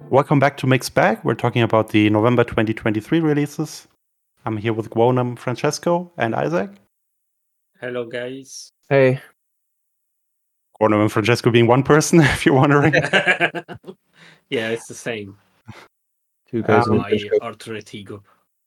Welcome back to Mixed Bag. We're talking about the November 2023 releases. I'm here with Gwonam, Francesco, and Isaac. Hello, guys. Hey. Gwonam and Francesco being one person, if you're wondering. Yeah, it's the same. Two guys in My alter ego.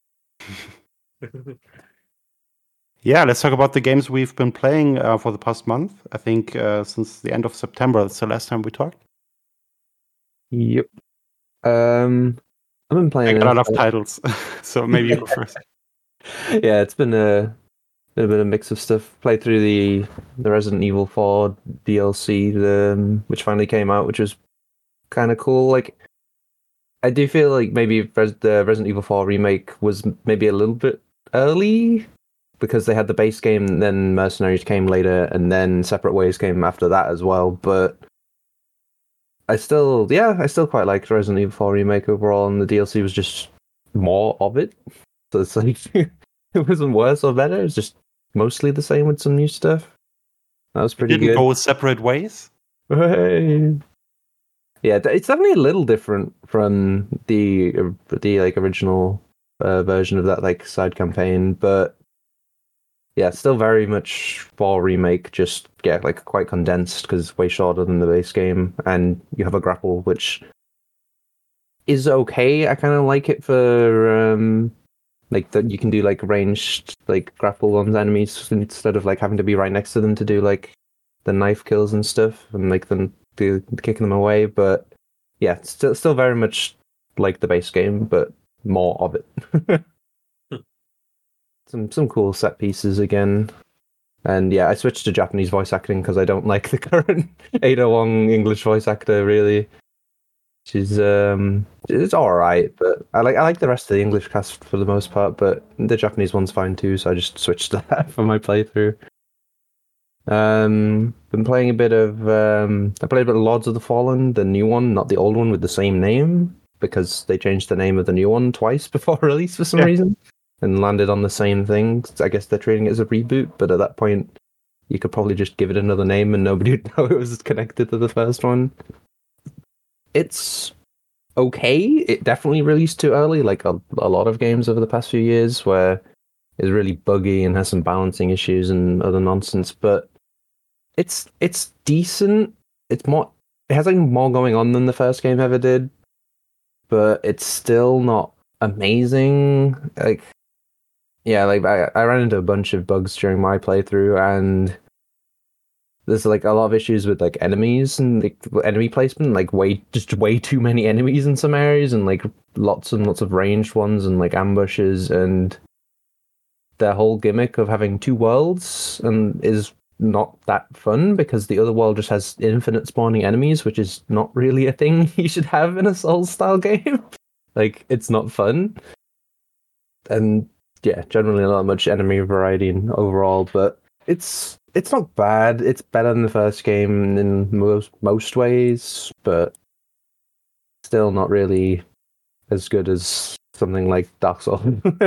Yeah, let's talk about the games we've been playing for the past month. I think since the end of September, that's the last time we talked. Yep. I've been playing a lot of titles, so maybe you go first. Yeah, it's been a bit of a mix of stuff. Played through the Resident Evil 4 DLC, which finally came out, which was kind of cool. Like, I do feel like maybe the Resident Evil 4 remake was maybe a little bit early because they had the base game, and then Mercenaries came later, and then Separate Ways came after that as well. But I still quite liked Resident Evil 4 remake overall, and the DLC was just more of it. So it's like it wasn't worse or better. It's just mostly the same with some new stuff. That was pretty good. Didn't go Separate Ways? Hey. Yeah, it's definitely a little different from the like original version of that like side campaign, but yeah, still very much 4 remake. Just like quite condensed because it's way shorter than the base game, and you have a grapple which is okay. I kind of like it for like that you can do like ranged like grapple on enemies instead of like having to be right next to them to do like the knife kills and stuff and like them kicking them away. But yeah, still very much like the base game, but more of it. Some cool set pieces again. And yeah, I switched to Japanese voice acting because I don't like the current Ada Wong English voice actor really. She's it's alright, but I like the rest of the English cast for the most part, but the Japanese one's fine too, so I just switched to that for my playthrough. Been playing a bit of I played a bit of Lords of the Fallen, the new one, not the old one with the same name, because they changed the name of the new one twice before release for some reason. And landed on the same thing. I guess they're treating it as a reboot, but at that point, you could probably just give it another name and nobody would know it was connected to the first one. It's okay. It definitely released too early, like a lot of games over the past few years, where it's really buggy and has some balancing issues and other nonsense. But it's decent. It has like more going on than the first game ever did, but it's still not amazing. Like. Yeah, like I ran into a bunch of bugs during my playthrough, and there's like a lot of issues with like enemies and like enemy placement, like way too many enemies in some areas, and like lots and lots of ranged ones and like ambushes, and their whole gimmick of having 2 worlds and is not that fun because the other world just has infinite spawning enemies, which is not really a thing you should have in a Souls style game. Like, it's not fun. And yeah, generally not much enemy variety overall, but it's not bad. It's better than the first game in most ways, but still not really as good as something like Dark Souls.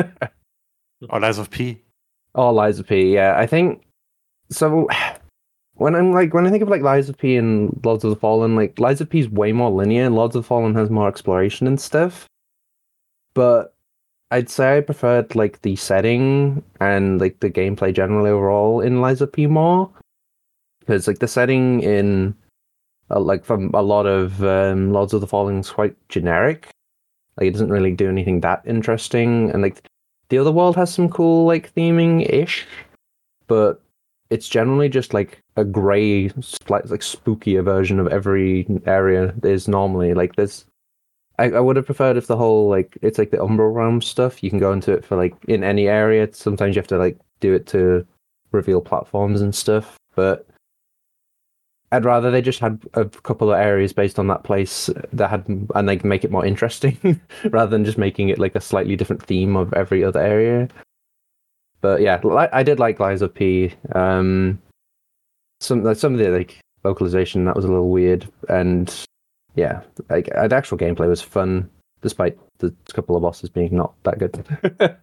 Or Lies of P. Oh, Lies of P, yeah. I think so. When I think of like Lies of P and Lords of the Fallen, like Lies of P is way more linear. Lords of the Fallen has more exploration and stuff, but I'd say I preferred like the setting and like the gameplay generally overall in Lies of P more, because like the setting in like from a lot of Lords of the Fallen is quite generic. Like it doesn't really do anything that interesting, and like the other world has some cool like theming ish, but it's generally just like a grey, like spookier version of every area is normally. Like there's. I would have preferred if the whole, like, it's like the Umbral Realm stuff, you can go into it for, like, in any area. Sometimes you have to, like, do it to reveal platforms and stuff, but I'd rather they just had a couple of areas based on that place that had, and they can make it more interesting, rather than just making it, like, a slightly different theme of every other area. But, yeah, I did like Lies of P. Some of the, like, localization, that was a little weird, and yeah, like the actual gameplay was fun, despite the couple of bosses being not that good.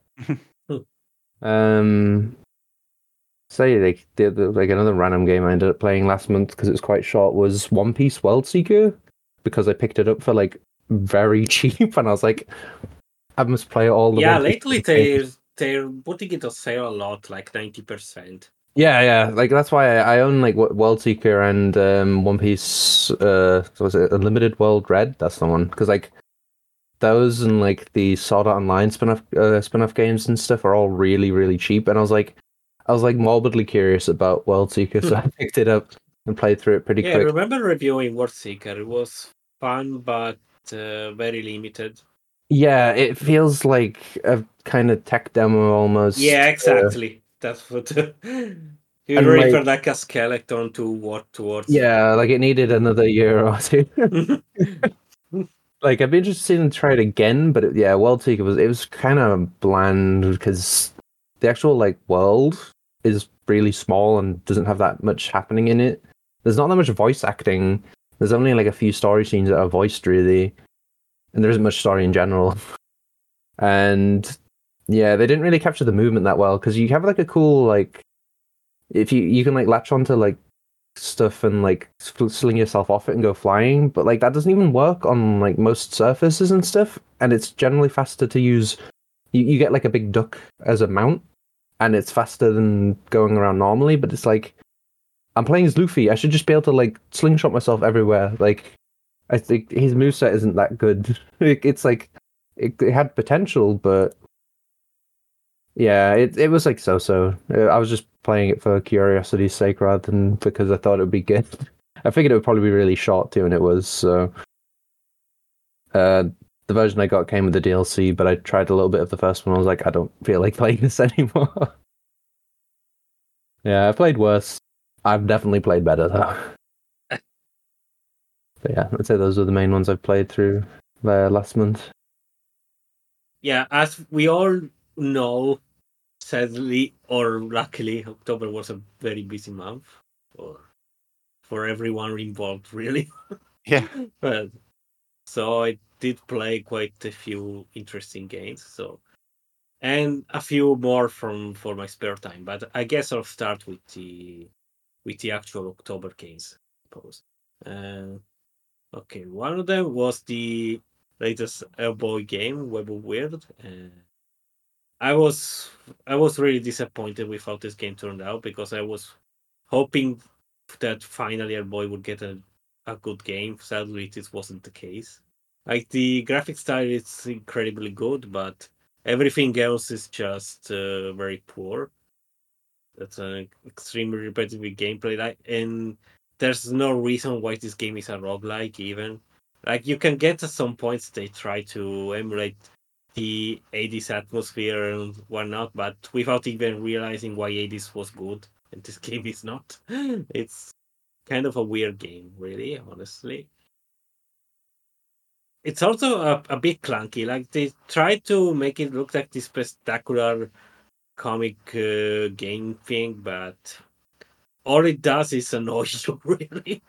Say like like another random game I ended up playing last month because it was quite short was One Piece World Seeker, because I picked it up for like very cheap, and I was like, I must play all the Yeah, One Piece lately games. they're putting it on sale a lot, like 90%. Yeah, like that's why I own like World Seeker and One Piece. So was it Unlimited World Red? That's the one, because like those and like the Sword Art Online spin-off games and stuff are all really really cheap, and I was like morbidly curious about World Seeker, so I picked it up and played through it pretty Yeah, I quick. remember reviewing World Seeker. It was fun, but very limited. Yeah, it feels like a kind of tech demo almost. Yeah, exactly. That's what you And like, refer like a skeleton to work towards. yeah, like it needed another year or two. Like I'd be interested in try it again, but yeah, World Seeker was kind of bland because the actual like world is really small and doesn't have that much happening in it. There's not that much voice acting. There's only like a few story scenes that are voiced really, and there isn't much story in general. And yeah, they didn't really capture the movement that well because you have like a cool like if you can like latch onto like stuff and like sling yourself off it and go flying, but like that doesn't even work on like most surfaces and stuff, and it's generally faster to use. You get like a big duck as a mount, and it's faster than going around normally, but it's like I'm playing as Luffy. I should just be able to like slingshot myself everywhere. Like I think his moveset isn't that good. It's like it had potential, but yeah, it was like so. I was just playing it for curiosity's sake rather than because I thought it would be good. I figured it would probably be really short too, and it was. So, the version I got came with the DLC, but I tried a little bit of the first one. I was like, I don't feel like playing this anymore. Yeah, I played worse. I've definitely played better though. But yeah, I'd say those are the main ones I've played through last month. Yeah, as we all know, sadly or luckily, October was a very busy month for everyone involved, really. Yeah. But so I did play quite a few interesting games. And a few more for my spare time. But I guess I'll start with the actual October games, I suppose. Okay, one of them was the latest Hellboy game, Web of Weird. I was I was really disappointed with how this game turned out because I was hoping that finally Hellboy would get a good game. Sadly, this wasn't the case. Like the graphic style is incredibly good, but everything else is just very poor. That's an extremely repetitive gameplay. And there's no reason why this game is a roguelike even. Like you can get at some points they try to emulate the 80s atmosphere and whatnot, but without even realizing why 80s was good and this game is not. It's kind of a weird game, really, honestly. It's also a bit clunky. Like they tried to make it look like this spectacular comic game thing, but all it does is annoy you, really.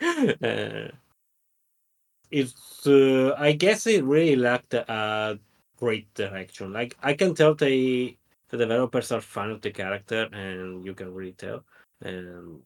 It's I guess it really lacked a great direction. Like I can tell the developers are fan of the character, and you can really tell. And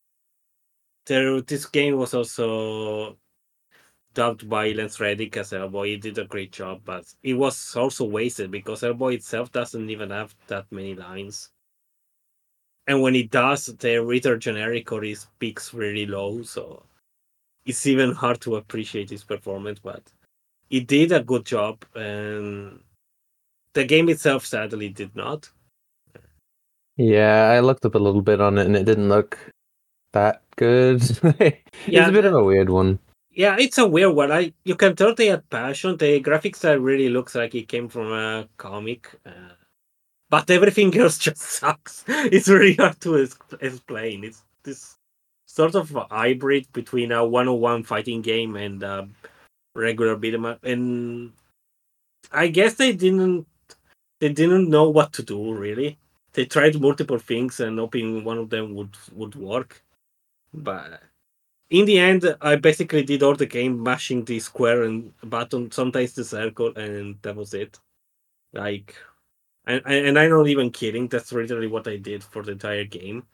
this game was also dubbed by Lance Reddick as Hellboy. He did a great job, but it was also wasted because Hellboy itself doesn't even have that many lines. And when it does, they're either generic or he speaks really low, so it's even hard to appreciate his performance. But he did a good job, and the game itself sadly did not. Yeah, I looked up a little bit on it and it didn't look that good. It's Yeah, a bit of a weird one. yeah, it's a weird one. You can tell they had passion. The graphic style really looks like it came from a comic. But everything else just sucks. It's really hard to explain. It's this sort of a hybrid between a 101 fighting game and a regular beat 'em up. And I guess they didn't know what to do really. They tried multiple things and hoping one of them would work. But in the end, I basically did all the game mashing the square and button, sometimes the circle, and that was it. Like and I'm not even kidding. That's literally what I did for the entire game.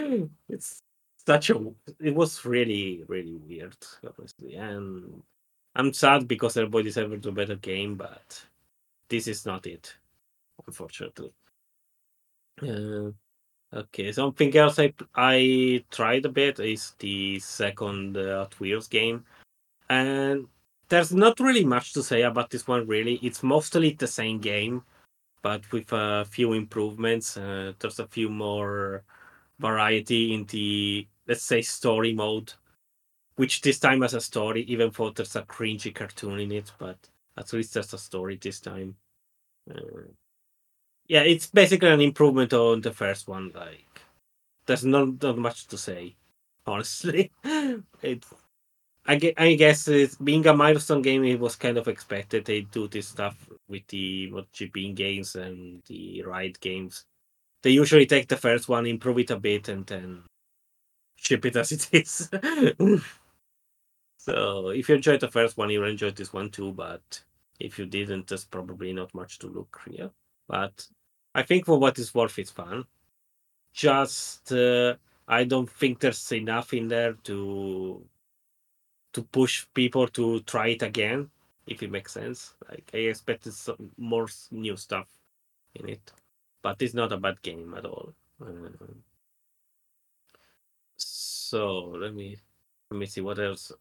It's such a. It was really really weird, honestly, and I'm sad because everybody deserves a better game, but this is not it, unfortunately. Okay, something else I tried a bit is the second Hot Wheels game, and there's not really much to say about this one. Really, it's mostly the same game, but with a few improvements. There's a few more variety in the, let's say, story mode, which this time has a story, even though there's a cringy cartoon in it, but at least there's a story this time. Yeah, it's basically an improvement on the first one. Like, there's not much to say, honestly. It's I guess it's being a milestone game, it was kind of expected. They do this stuff with the MotoGP games and the ride games. They usually take the first one, improve it a bit, and then ship it as it is. So if you enjoyed the first one, you'll enjoy this one too. But if you didn't, there's probably not much to look here. But I think for what it's worth, it's fun. Just I don't think there's enough in there to push people to try it again, if it makes sense. Like I expected some more new stuff in it, but it's not a bad game at all. So let me see what else.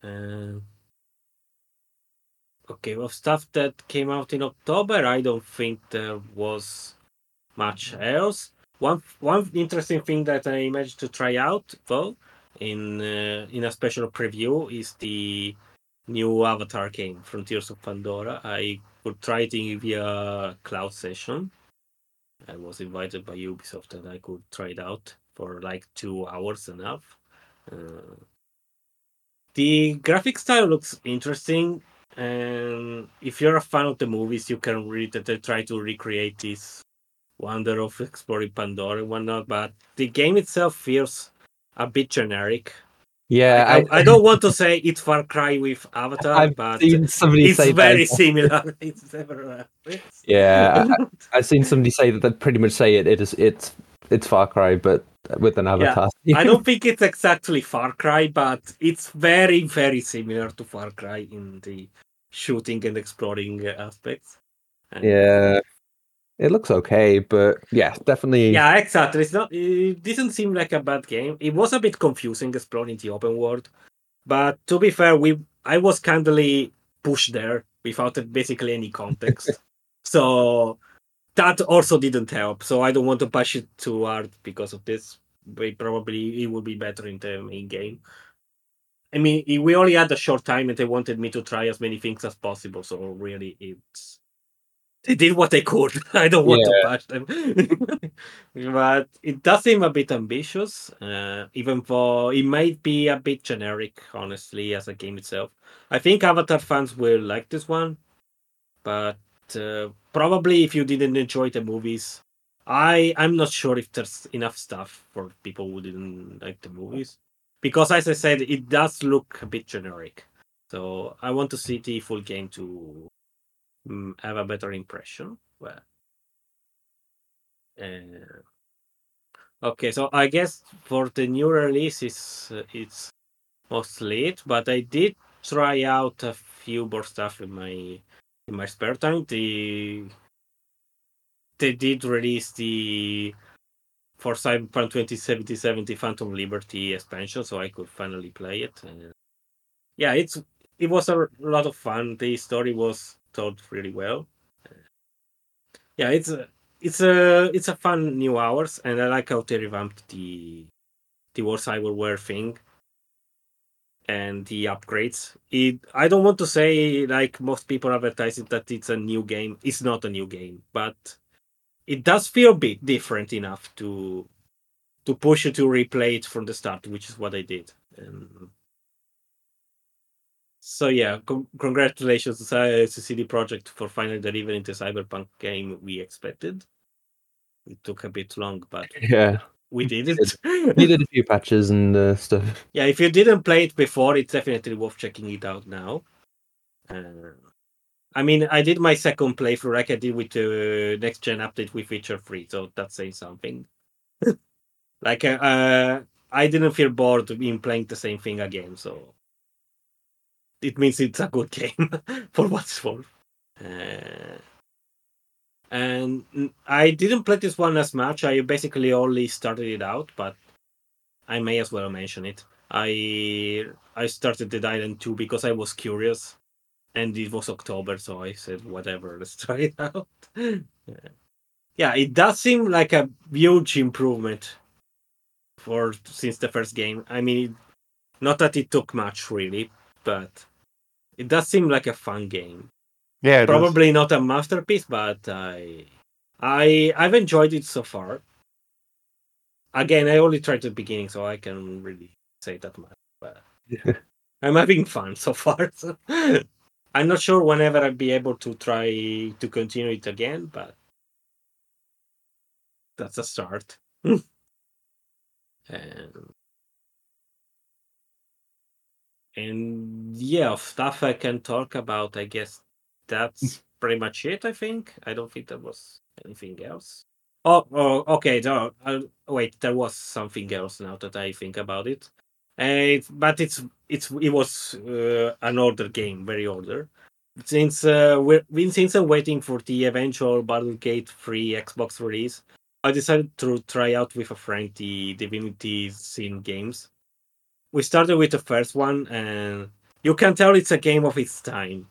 Okay, well, stuff that came out in October, I don't think there was much else. One interesting thing that I managed to try out though in a special preview is the new Avatar game, Frontiers of Pandora. I could try it via cloud session. I was invited by Ubisoft and I could try it out for like 2 hours enough. The graphic style looks interesting, and if you're a fan of the movies, you can read that they try to recreate this wonder of exploring Pandora and whatnot. But the game itself feels a bit generic. Yeah, I don't want to say it's Far Cry with Avatar, I've but seen somebody it's say very that. similar. It's never. Yeah, I've seen somebody say that. They pretty much say it's Far Cry, but with an avatar. Yeah, I don't think it's exactly Far Cry, but it's very, very similar to Far Cry in the shooting and exploring aspects. Yeah, it looks okay, but yeah, definitely. Yeah, exactly. It's not. It didn't seem like a bad game. It was a bit confusing exploring the open world, but to be fair, I was kindly pushed there without basically any context. So that also didn't help. So I don't want to push it too hard because of this. But probably it would be better in the main game. I mean, we only had a short time, and they wanted me to try as many things as possible. So really, they did what they could. I don't want to Yeah, bash them, but it does seem a bit ambitious, even though it might be a bit generic, honestly, as a game itself. I think Avatar fans will like this one, but probably if you didn't enjoy the movies, I'm not sure if there's enough stuff for people who didn't like the movies, because as I said, it does look a bit generic. So I want to see the full game to have a better impression. Well, uh, okay, so I guess for the new release, it's mostly it. But I did try out a few more stuff in my spare time. They did release the for Cyberpunk 2077 the Phantom Liberty expansion, so I could finally play it. And yeah, it was a lot of fun. The story was told really well. Yeah, it's a fun new hours, and I like how they revamped the War Cyberware thing and the upgrades. I don't want to say like most people advertise it that it's a new game. It's not a new game, but it does feel a bit different enough to push you to replay it from the start, which is what I did. So yeah, congratulations to CD Projekt for finally delivering the Cyberpunk game we expected. It took a bit long, but yeah. we did it. Needed a few patches and stuff. Yeah, if you didn't play it before, it's definitely worth checking it out now. I mean, I did my second playthrough like I did with the next gen update with Witcher 3, so that's saying something. Like, I didn't feel bored in playing the same thing again, so it means it's a good game for what it's worth. And I didn't play this one as much. I basically only started it out, but I may as well mention it. I started Dead Island 2 because I was curious, and it was October, so I said, whatever, let's try it out. Yeah, it does seem like a huge improvement since the first game. I mean, not that it took much really, but it does seem like a fun game. Yeah, it is. Probably not a masterpiece, but I've enjoyed it so far. Again, I only tried the beginning, so I can really say that much. But I'm having fun so far. So I'm not sure whenever I'll be able to try to continue it again, but that's a start. And yeah, stuff I can talk about, I guess that's pretty much it, I think. I don't think there was anything else. Oh, okay. Wait, there was something else now that I think about it. But it was an older game, very older. Since I'm waiting for the eventual Baldur's Gate 3 Xbox release, I decided to try out with a friend the Divinity Sin games. We started with the first one, and you can tell it's a game of its time.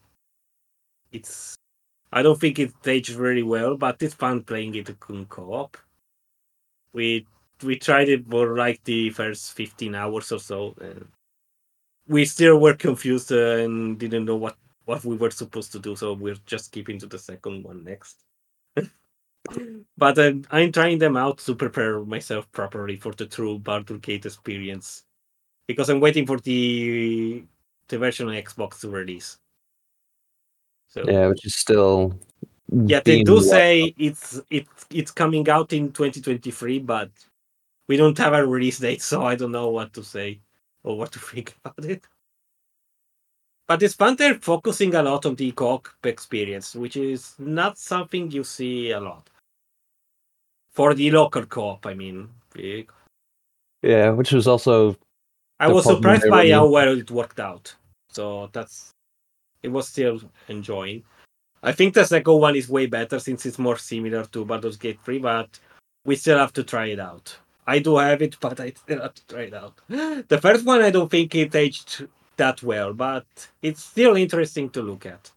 I don't think it aged very well, but it's fun playing it in co-op. We tried it for like the first 15 hours or so, and we still were confused and didn't know what we were supposed to do, so we're just skipping to the second one next. But I'm trying them out to prepare myself properly for the true Baldur's Gate experience, because I'm waiting for the version on Xbox to release. So Yeah, which is still. Yeah, they do say it's coming out in 2023, but we don't have a release date, so I don't know what to say or what to think about it. But it's fun. They're focusing a lot on the co-op experience, which is not something you see a lot. For the local co-op, I mean. Yeah, which was also. I was surprised by how well it worked out. So it was still enjoying. I think the second one is way better since it's more similar to Baldur's Gate 3, but we still have to try it out. I do have it, but I still have to try it out. The first one, I don't think it aged that well, but it's still interesting to look at.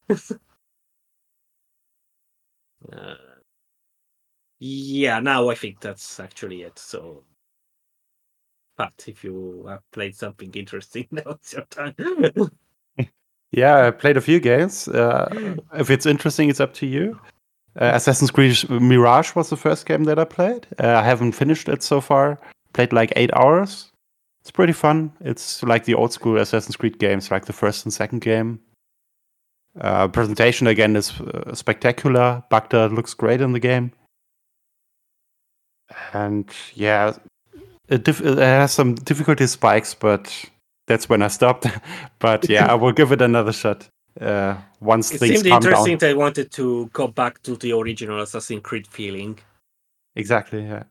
Yeah, now I think that's actually it. So, but if you have played something interesting, now it's your time. Yeah, I played a few games. If it's interesting, it's up to you. Assassin's Creed Mirage was the first game that I played. I haven't finished it so far. Played like 8 hours. It's pretty fun. It's like the old school Assassin's Creed games, like the first and second game. Presentation again is spectacular. Baghdad looks great in the game. And yeah, it has some difficulty spikes, but that's when I stopped. But yeah, I will give it another shot once things calm down. It seemed interesting. They wanted to go back to the original Assassin's Creed feeling. Exactly, yeah.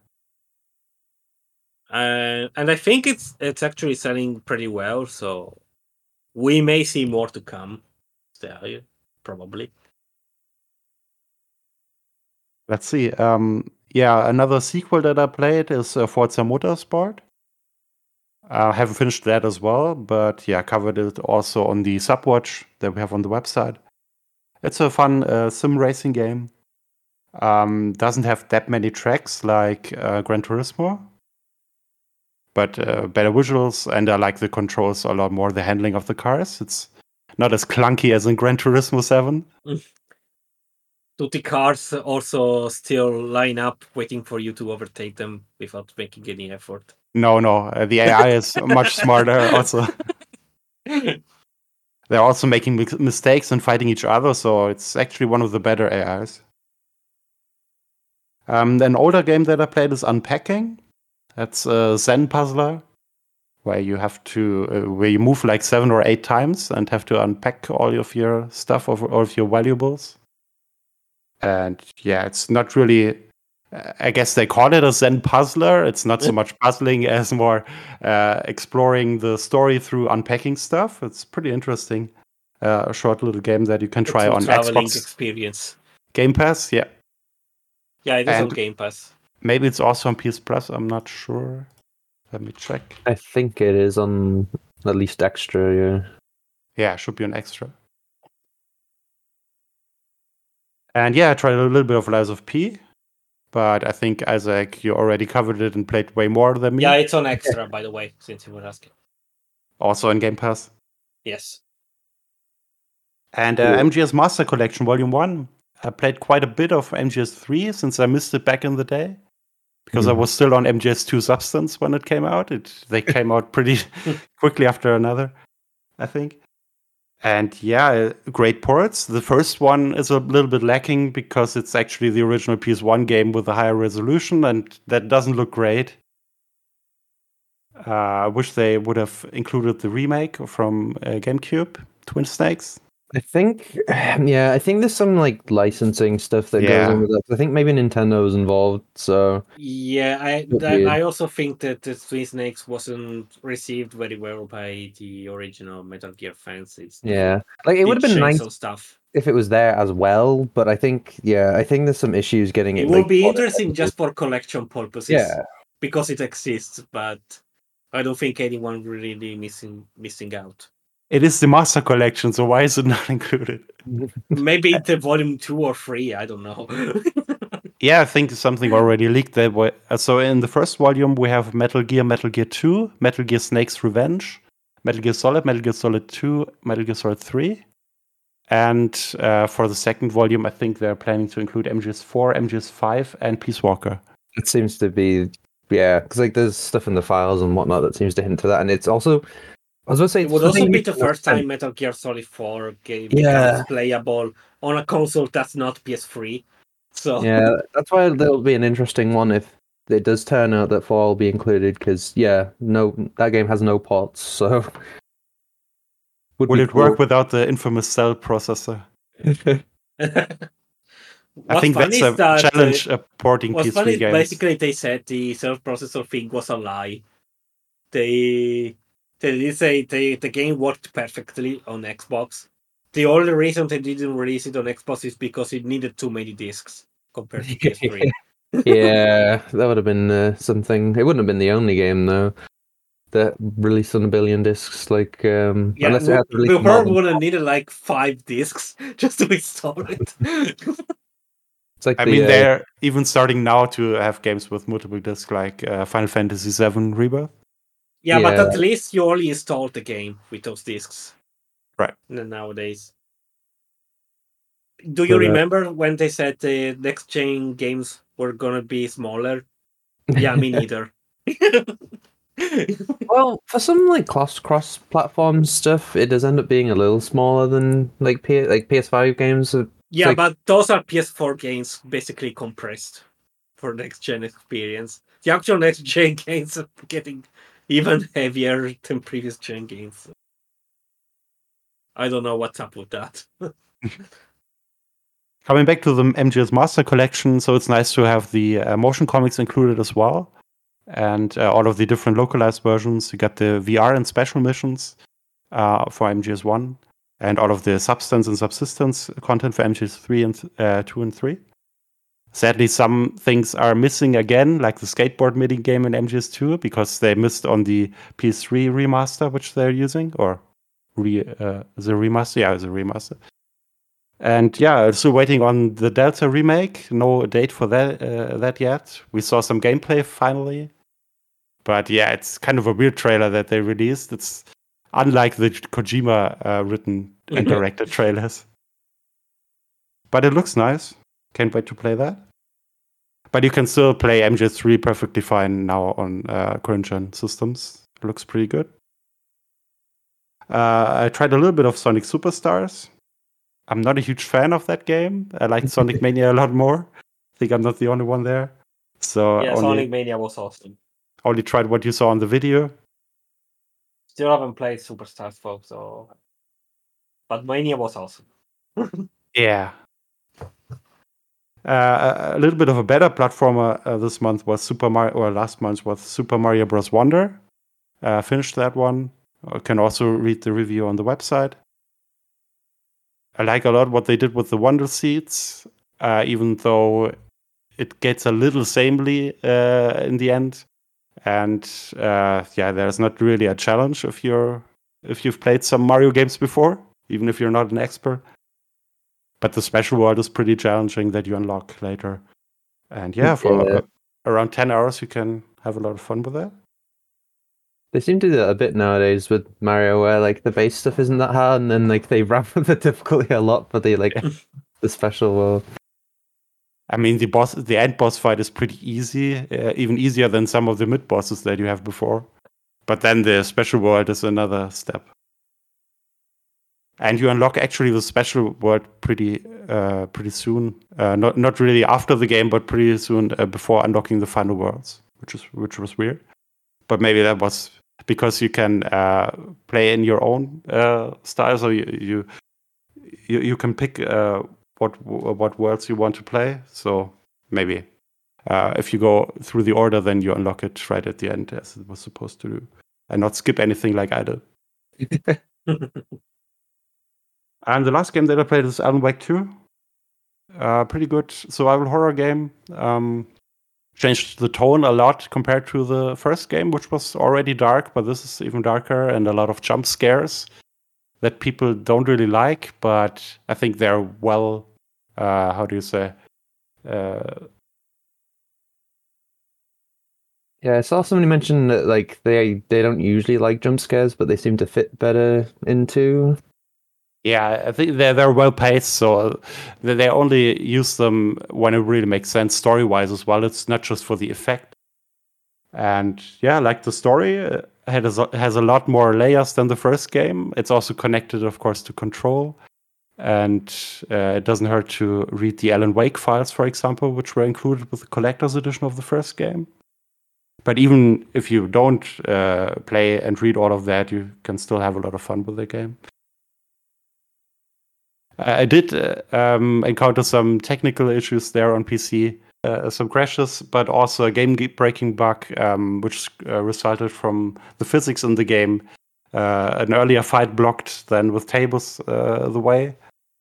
And I think it's actually selling pretty well, so we may see more to come. Yeah, probably. Let's see. Yeah, another sequel that I played is Forza Motorsport. I haven't finished that as well, but yeah, covered it also on the Subwatch that we have on the website. It's a fun sim racing game. Doesn't have that many tracks like Gran Turismo, but better visuals, and I like the controls a lot more, the handling of the cars. It's not as clunky as in Gran Turismo 7. Do the cars also still line up waiting for you to overtake them without making any effort? No. The AI is much smarter also. They're also making mistakes and fighting each other, so it's actually one of the better AIs. An older game that I played is Unpacking. That's a Zen puzzler where you have to where you move like 7 or 8 times and have to unpack all of your stuff, all of your valuables. And yeah, it's not really I guess they call it a Zen puzzler. It's not so much puzzling as more exploring the story through unpacking stuff. It's pretty interesting. A short little game that you can try It's a on traveling Xbox experience. Game Pass. Yeah, Yeah, it is on And- Game Pass. maybe it's also on PS Plus. I'm not sure. Let me check. I think it is on at least extra. Yeah. Yeah, it should be an extra. And yeah, I tried a little bit of Lies of P, but I think Isaac, you already covered it and played way more than me. Yeah, it's on extra, by the way, since you were asking. Also on Game Pass. Yes. And Cool. MGS Master Collection Volume 1. I played quite a bit of MGS 3 since I missed it back in the day. Because I was still on MGS 2 Substance when it came out. They came out pretty quickly after another, I think. And yeah, great ports. The first one is a little bit lacking because it's actually the original PS1 game with a higher resolution, and that doesn't look great. I wish they would have included the remake from GameCube, Twin Snakes. I think, yeah, I think there's some like licensing stuff that goes on with that. I think maybe Nintendo was involved. So Yeah, weird. I also think that the Twin Snakes wasn't received very well by the original Metal Gear fans. yeah, like it would have been nice some stuff. if it was there as well. But I think, yeah, I think there's some issues getting it. It will be ported. interesting just for collection purposes. Yeah, Because it exists, but I don't think anyone really missing out. It is the Master Collection, so why is it not included? Maybe the volume 2 or 3, I don't know. Yeah, I think something already leaked that way. So in the first volume, we have Metal Gear 2, Metal Gear Snake's Revenge, Metal Gear Solid 2, Metal Gear Solid 3. And for the second volume, I think they're planning to include MGS 4, MGS 5, and Peace Walker. it seems to be, yeah, because like there's stuff in the files and whatnot that seems to hint to that, and it's also, I was going to say, It would also be the first time Metal Gear Solid 4 game becomes playable on a console that's not PS3. So Yeah, that's why there'll be an interesting one if it does turn out that 4 will be included, because that game has no ports, so Will it work without the infamous cell processor? I think that's a challenge porting what's PS3 funny games. basically they said the self-processor thing was a lie. They did say the game worked perfectly on Xbox. The only reason they didn't release it on Xbox is because it needed too many discs compared to PS3. Yeah, that would have been something. It wouldn't have been the only game though that released on 1 billion discs. Like, unless it had to release we probably would have needed like 5 discs just to install it. It's like I mean, they're even starting now to have games with multiple discs, like Final Fantasy VII Rebirth. Yeah, but at least you only installed the game with those discs. Right. Nowadays. Do you remember when they said the next gen games were gonna be smaller? Yeah, me neither. Well, for some like cross-platform stuff, it does end up being a little smaller than like PS5 games. Yeah, like, but those are PS4 games basically compressed for next gen experience. The actual next gen games are getting even heavier than previous gen games. I don't know what's up with that. Coming back to the MGS Master Collection, so it's nice to have the motion comics included as well. And all of the different localized versions. You got the VR and special missions for MGS1, and all of the substance and subsistence content for MGS3 and 2 and 3. Sadly, some things are missing again, like the skateboard mini game in MGS2, because they missed on the PS3 remaster, which they're using, or the remaster. Yeah, it's a remaster. And yeah, still waiting on the Delta remake. No date for that yet. We saw some gameplay finally. But yeah, it's kind of a weird trailer that they released. It's unlike the Kojima written and directed trailers. But it looks nice. Can't wait to play that. But you can still play MGS3 perfectly fine now on current gen systems. It looks pretty good. I tried a little bit of Sonic Superstars. I'm not a huge fan of that game. I liked Sonic Mania a lot more. I think I'm not the only one there. So yeah, Sonic Mania was awesome. Only tried what you saw on the video. Still haven't played Superstars, folks. But Mania was awesome. Yeah. A little bit of a better platformer this month was last month was Super Mario Bros. Wonder. Finished that one. You can also read the review on the website. I like a lot what they did with the Wonder Seeds, even though it gets a little samely in the end. And there's not really a challenge if you've played some Mario games before, even if you're not an expert. But the special world is pretty challenging that you unlock later. And for around 10 hours, you can have a lot of fun with that. They seem to do that a bit nowadays with Mario, where like the base stuff isn't that hard, and then like they ramp up the difficulty a lot for the the special world. I mean, the end boss fight is pretty easy, even easier than some of the mid bosses that you have before. But then the special world is another step. And you unlock actually the special world pretty soon. Not really after the game, but pretty soon before unlocking the final worlds, which was weird. But maybe that was because you can play in your own style, so you can pick what worlds you want to play. So maybe if you go through the order, then you unlock it right at the end as it was supposed to do, and not skip anything like I did. And the last game that I played is Alan Wake 2. Pretty good survival horror game. Changed the tone a lot compared to the first game, which was already dark, but this is even darker, and a lot of jump scares that people don't really like, but I think they're well, how do you say? Yeah, I saw somebody mention that like they don't usually like jump scares, but they seem to fit better into. Yeah, I think they're well paced, so they only use them when it really makes sense story-wise as well. It's not just for the effect. And yeah, like the story has a lot more layers than the first game. It's also connected, of course, to Control. And it doesn't hurt to read the Alan Wake files, for example, which were included with the collector's edition of the first game. But even if you don't play and read all of that, you can still have a lot of fun with the game. I did encounter some technical issues there on PC, some crashes, but also a game-breaking bug, which resulted from the physics in the game. An earlier fight blocked then with tables the way.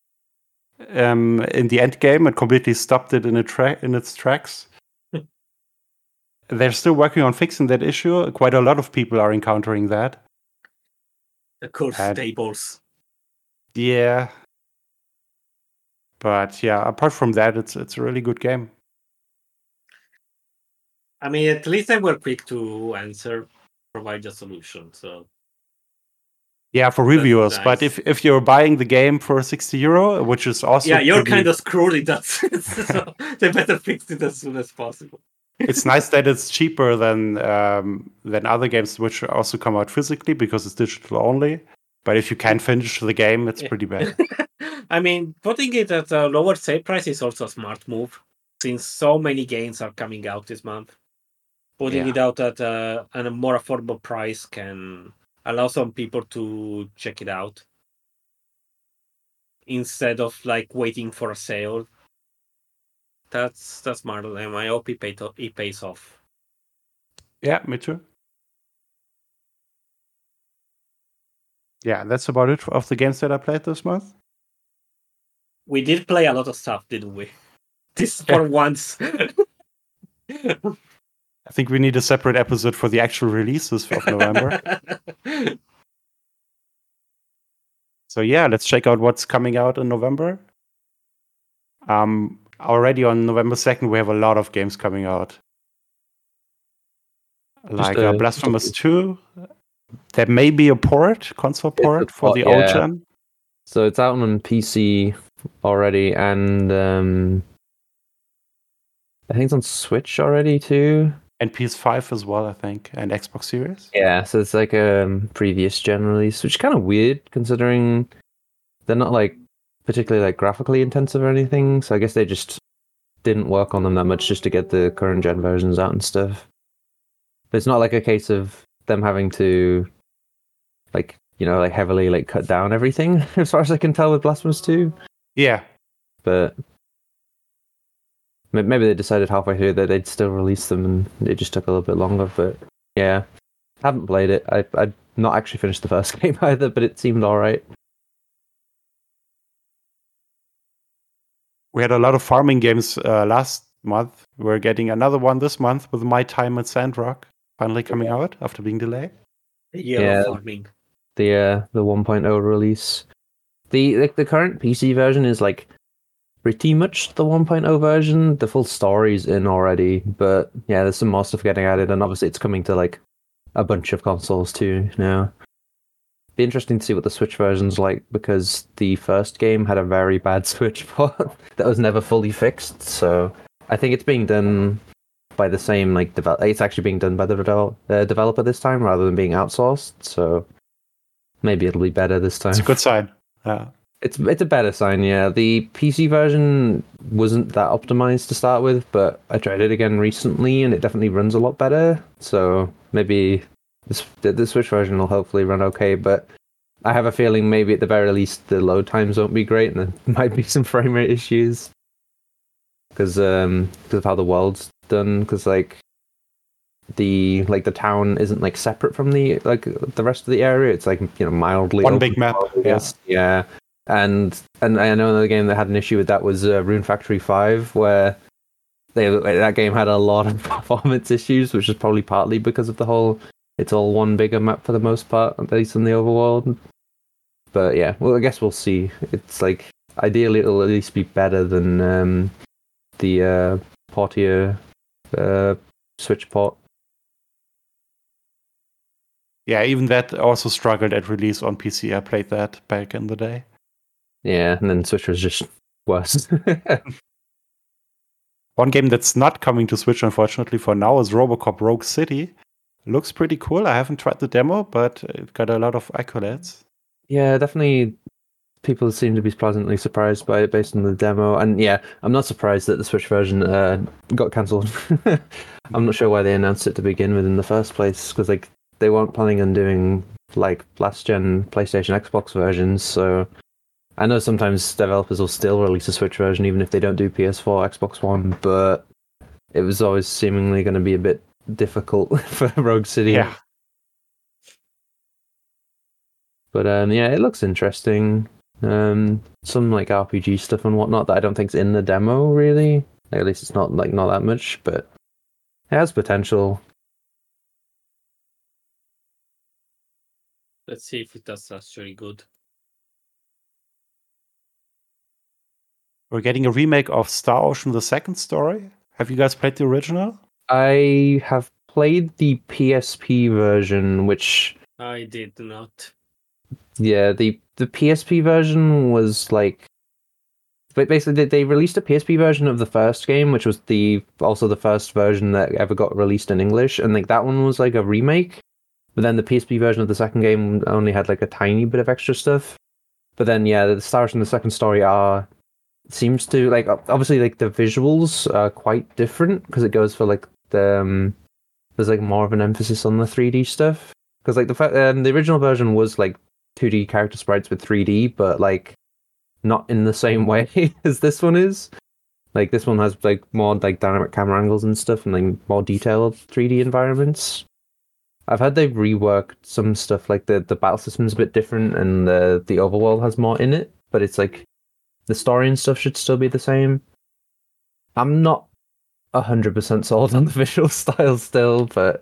In the end game, it completely stopped it in its tracks. They're still working on fixing that issue. Quite a lot of people are encountering that. Of course, tables. Yeah. But yeah, apart from that, it's a really good game. I mean, at least they were quick to provide a solution. So yeah, for reviewers. Nice. But if you're buying the game for €60, which is also you're kind of screwed in that sense. So they better fix it as soon as possible. It's nice that it's cheaper than other games which also come out physically because it's digital only. But if you can't finish the game, it's pretty bad. I mean, putting it at a lower sale price is also a smart move, since so many games are coming out this month. Putting it out at a more affordable price can allow some people to check it out instead of like waiting for a sale. That's smart, and I hope it pays off. Yeah, me too. Yeah, that's about it of the games that I played this month. We did play a lot of stuff, didn't we? This for once. I think we need a separate episode for the actual releases of November. So yeah, let's check out what's coming out in November. Already on November 2nd, we have a lot of games coming out. Like Blasphemous 2. There may be a console port for the old gen. So it's out on PC already, and I think it's on Switch already too. And PS5 as well, I think, and Xbox Series. Yeah, so it's like a previous gen release, which is kind of weird considering they're not like particularly like graphically intensive or anything. So I guess they just didn't work on them that much just to get the current gen versions out and stuff. But it's not like a case of them having to like, you know, like heavily like cut down everything as far as I can tell with Blasphemous 2. Yeah. But Maybe they decided halfway through that they'd still release them, and it just took a little bit longer. But yeah, haven't played it. I'd not actually finished the first game either, but it seemed all right. We had a lot of farming games last month. We're getting another one this month with My Time at Sandrock finally coming out after being delayed. Yeah, farming. The 1.0 release. The current PC version is like pretty much the 1.0 version. The full story's in already, but yeah, there's some more stuff getting added, and obviously it's coming to like a bunch of consoles too now. Be interesting to see what the Switch version's like, because the first game had a very bad Switch port that was never fully fixed. So I think it's being done by the same it's actually being done by the developer this time rather than being outsourced. So maybe it'll be better this time. It's a good sign. Yeah. It's a better sign, yeah. The PC version wasn't that optimized to start with, but I tried it again recently and it definitely runs a lot better. So maybe the Switch version will hopefully run okay, but I have a feeling maybe at the very least the load times won't be great and there might be some frame rate issues because of how the world's done. Because the town isn't like separate from the rest of the area. It's like, you know, mildly one big map. Yes, yeah. And I know another game that had an issue with that was Rune Factory 5, where that game had a lot of performance issues, which is probably partly because of the whole it's all one bigger map for the most part, at least in the overworld. But yeah, well, I guess we'll see. It's like ideally it'll at least be better than the Portia Switch port. Yeah, even that also struggled at release on PC. I played that back in the day. Yeah, and then Switch was just worse. One game that's not coming to Switch, unfortunately, for now is Robocop Rogue City. Looks pretty cool. I haven't tried the demo, but it got a lot of accolades. Yeah, definitely. People seem to be pleasantly surprised by it based on the demo. And yeah, I'm not surprised that the Switch version got cancelled. I'm not sure why they announced it to begin with in the first place, because they weren't planning on doing like last-gen PlayStation, Xbox versions, so I know sometimes developers will still release a Switch version even if they don't do PS4, Xbox One, but it was always seemingly going to be a bit difficult for Rogue City. Yeah. But yeah, it looks interesting. Some like RPG stuff and whatnot that I don't think's in the demo really. At least it's not that much, but it has potential. Let's see if that's actually good. We're getting a remake of Star Ocean: The Second Story. Have you guys played the original? I have played the PSP version, which I did not. Yeah, the PSP version was like, but basically they released a PSP version of the first game, which was also the first version that ever got released in English, and like that one was like a remake. But then the PSP version of the second game only had like a tiny bit of extra stuff. But then yeah, the Star Ocean: The Second Story seems to like obviously like the visuals are quite different because it goes for like there's like more of an emphasis on the 3D stuff, because like the original version was like 2D character sprites with 3D, but like not in the same way as this one is. Like this one has like more like dynamic camera angles and stuff, and like more detailed 3D environments. I've heard they've reworked some stuff, like the battle system's a bit different, and the overworld has more in it, but it's like the story and stuff should still be the same. I'm not 100% sold on the visual style still, but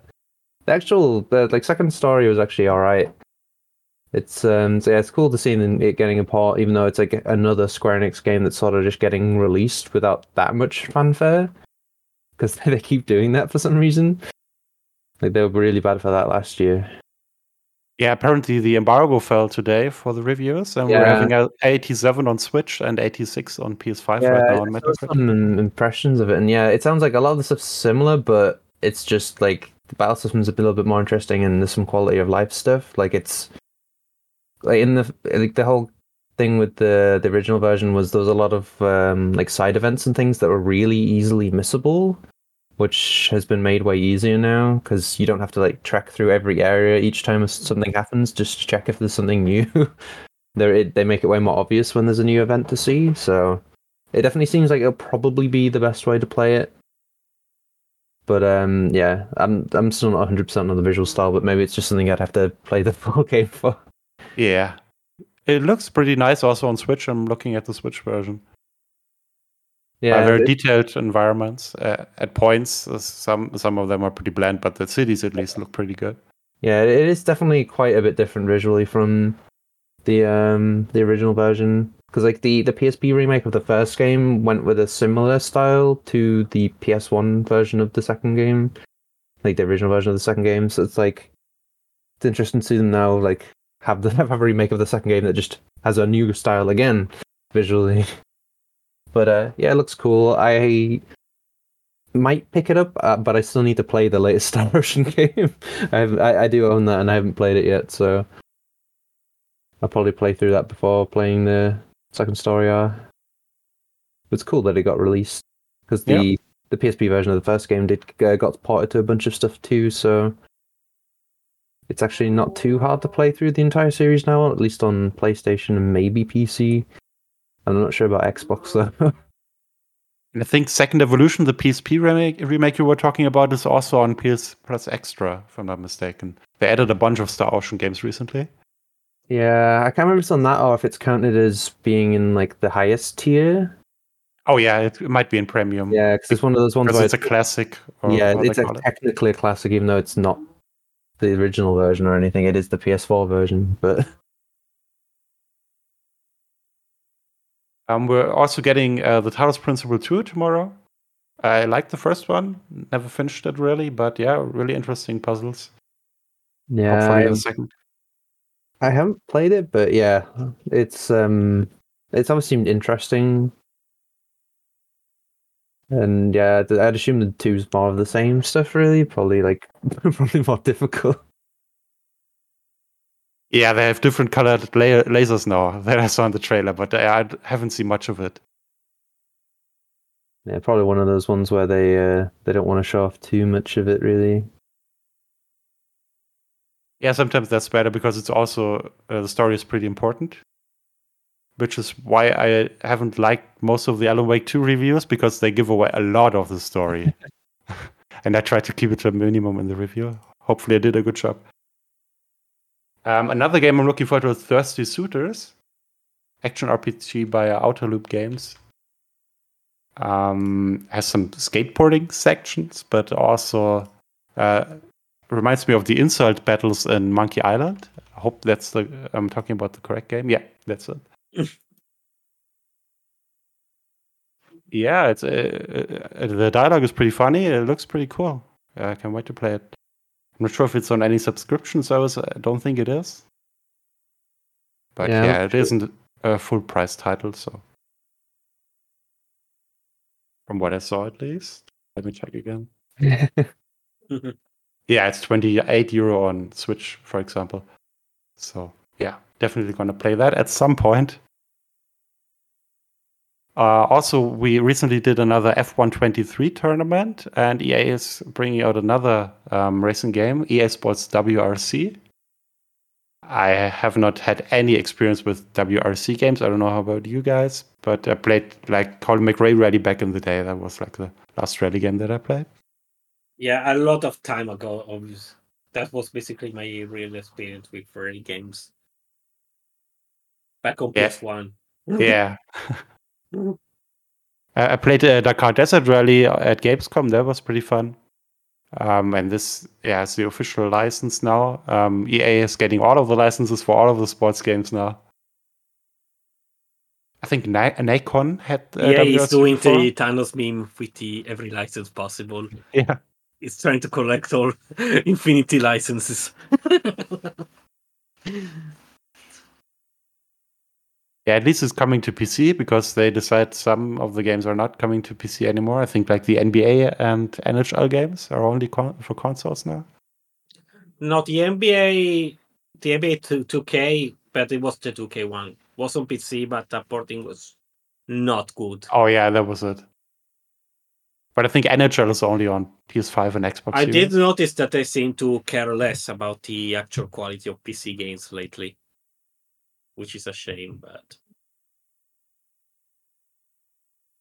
the second story was actually alright. It's so yeah, it's cool to see it getting a port, even though it's like another Square Enix game that's sort of just getting released without that much fanfare, because they keep doing that for some reason. Like they were really bad for that last year. Yeah, apparently the embargo fell today for the reviews, and we're having a 87 on Switch and 86 on PS5 right now on Metacritic. Some impressions of it, and yeah, it sounds like a lot of the stuff's similar, but it's just like the battle system's a little bit more interesting, and there's some quality of life stuff. Like it's like in the whole thing with the original version was there was a lot of like side events and things that were really easily missable, which has been made way easier now, because you don't have to like trek through every area each time something happens just to check if there's something new. They make it way more obvious when there's a new event to see, so it definitely seems like it'll probably be the best way to play it. But yeah, I'm still not 100% on the visual style, but maybe it's just something I'd have to play the full game for. Yeah. It looks pretty nice also on Switch. I'm looking at the Switch version. Yeah, Very detailed environments. At points, some of them are pretty bland, but the cities at least look pretty good. yeah, it is definitely quite a bit different visually from the original version. Because like the PSP remake of the first game went with a similar style to the PS1 version of the second game, like the original version of the second game. So it's like it's interesting to see them now like have a remake of the second game that just has a new style again visually. But yeah, it looks cool. I might pick it up, but I still need to play the latest Star Ocean game. I do own that, and I haven't played it yet, so I'll probably play through that before playing the second story arc. It's cool that it got released because the PSP version of the first game got ported to a bunch of stuff too, so it's actually not too hard to play through the entire series now, at least on PlayStation and maybe PC. I'm not sure about Xbox though. And I think Second Evolution, the PSP remake you were talking about, is also on PS Plus Extra, if I'm not mistaken. They added a bunch of Star Ocean games recently. Yeah, I can't remember if it's on that or if it's counted as being in like the highest tier. Oh yeah, it might be in premium. Yeah, because it's one of those ones where it's a classic. Yeah, it's technically a classic, even though it's not the original version or anything. It is the PS4 version, but we're also getting the Talos Principle 2 tomorrow. I like the first one. Never finished it really, but yeah, really interesting puzzles. yeah, hopefully the second. I haven't played it, but yeah, it's always seemed interesting. And yeah, I'd assume the two's more of the same stuff, really. Probably more difficult. Yeah, they have different colored lasers now that I saw in the trailer, but I haven't seen much of it. Yeah, probably one of those ones where they don't want to show off too much of it, really. Yeah, sometimes that's better because it's also the story is pretty important, which is why I haven't liked most of the Alan Wake 2 reviews, because they give away a lot of the story. And I try to keep it to a minimum in the review. Hopefully I did a good job. Another game I'm looking forward to is Thirsty Suitors, action RPG by Outer Loop Games. Has some skateboarding sections, but also reminds me of the insult battles in Monkey Island. I hope I'm talking about the correct game. Yeah, that's it. Yeah, it's the dialogue is pretty funny. It looks pretty cool. I can't wait to play it. I'm not sure if it's on any subscription service. I don't think it is. But yeah, it isn't a full price title, so from what I saw at least. Let me check again. Yeah, it's €28 on Switch, for example. So yeah, definitely gonna play that at some point. Also, we recently did another F123 tournament, and EA is bringing out another racing game, EA Sports WRC. I have not had any experience with WRC games. I don't know how about you guys, but I played like Colin McRae Rally back in the day. That was like the last rally game that I played. Yeah, a lot of time ago. Obviously, that was basically my real experience with rally games. Back on PS1. Yeah. I played Dakar Desert Rally at Gamescom. That was pretty fun. And this is the official license now. EA is getting all of the licenses for all of the sports games now. I think Nacon had he's doing before. The Thanos meme with every license possible. Yeah. He's trying to collect all Infinity licenses. Yeah, at least it's coming to PC, because they decide some of the games are not coming to PC anymore. I think like the NBA and NHL games are only for consoles now. Not the NBA 2K, but it was the 2K one. It was on PC, but the porting was not good. Oh yeah, that was it. But I think NHL is only on PS5 and Xbox I Series. did notice that they seem to care less about the actual quality of PC games lately, which is a shame, but